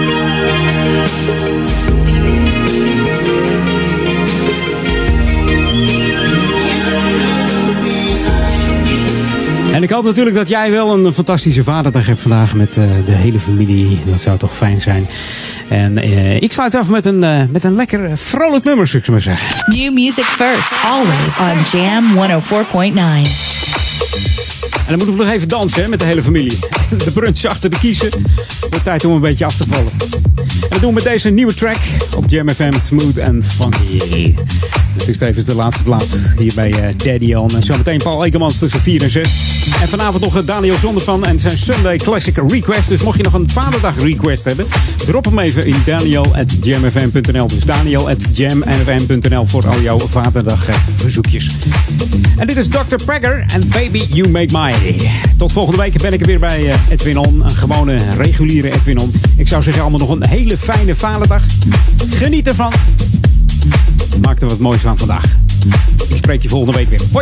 S9: En ik hoop natuurlijk dat jij wel een fantastische vaderdag hebt vandaag met uh, de hele familie. Dat zou toch fijn zijn. En uh, ik sluit af met een, uh, met een lekker vrolijk nummer, zou ik maar zeggen.
S4: New music first, always on Jam honderdvier komma negen.
S9: En dan moeten we nog even dansen hè, met de hele familie. De brunch achter de kiezen. Wordt tijd om een beetje af te vallen. En dat doen we met deze nieuwe track op Jam F M, Smooth and Funky. Het is tevens de laatste plaat hier bij uh, Daddy On. En zometeen Paul Ekemans tussen vier en zes. En vanavond nog Daniel Zondervan en zijn Sunday Classic Request. Dus mocht je nog een vaderdag request hebben, drop hem even in daniel at jam f m punt n l. Dus daniel at jam f m punt n l voor al jouw vaderdag uh, verzoekjes. En dit is dokter Prager en Baby You Make My. Tot volgende week ben ik er weer bij uh, Edwin On. Een gewone reguliere Edwin On. Ik zou zeggen allemaal nog een hele fijne vaderdag. Geniet ervan. Maak er wat moois van vandaag. Ik spreek je volgende week weer. Hoi!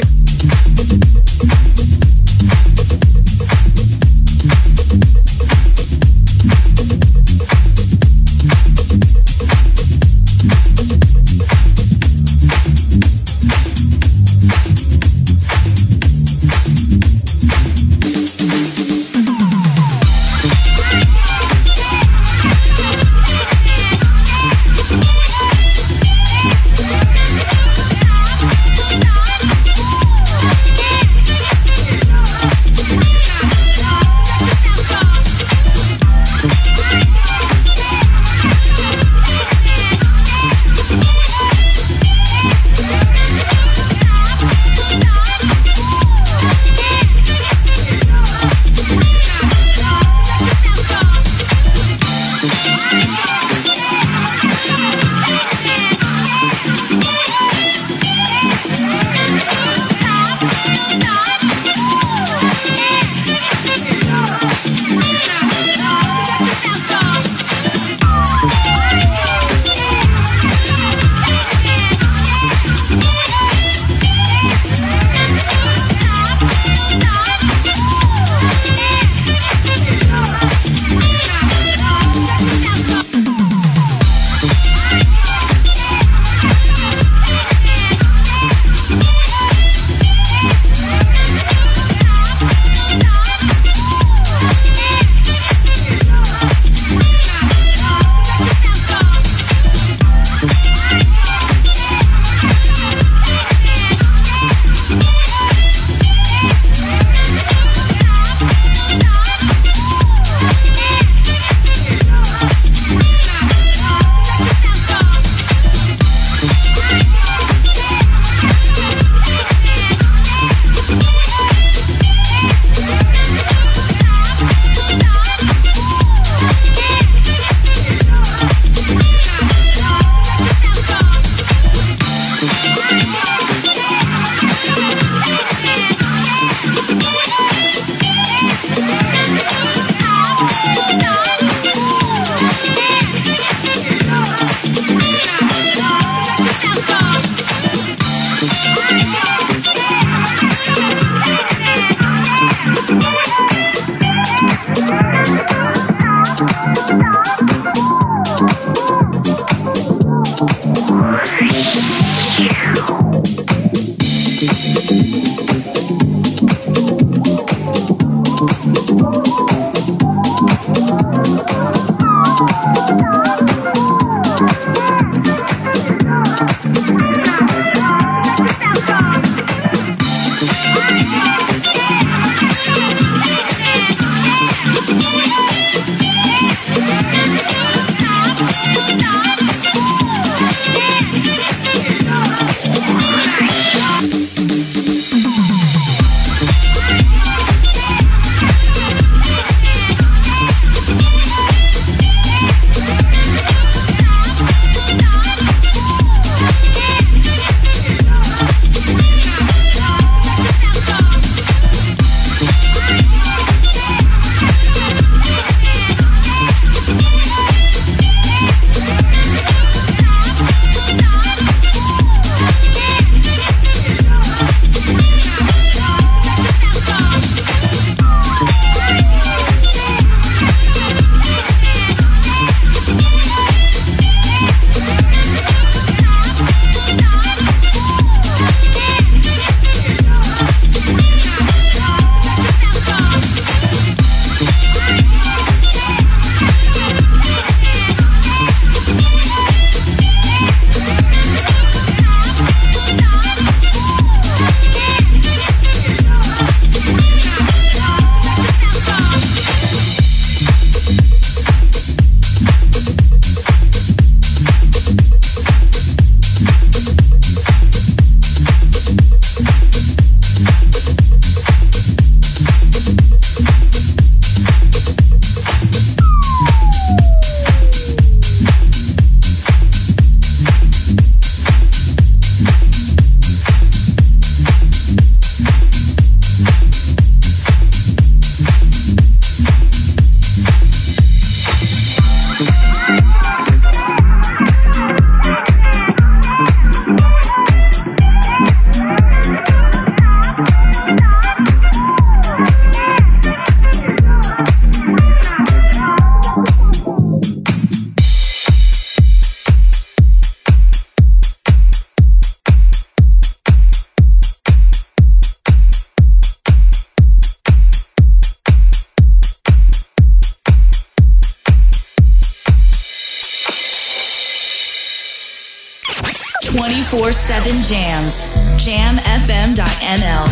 S4: twenty-four seven jams. jam f m dot n l.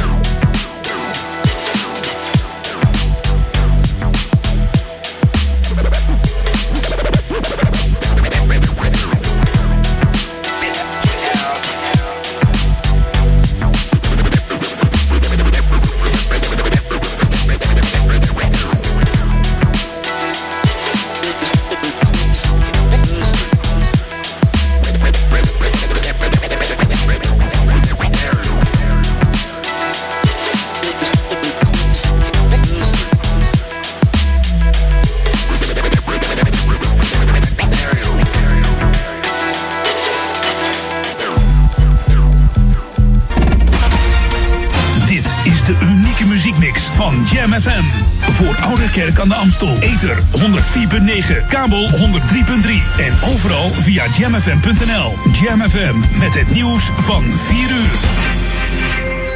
S1: Van Jam F M. Voor Ouderkerk aan de Amstel. Ether honderd vier komma negen. Kabel honderd drie komma drie. En overal via jam f m punt n l. Jam F M met het nieuws van vier uur.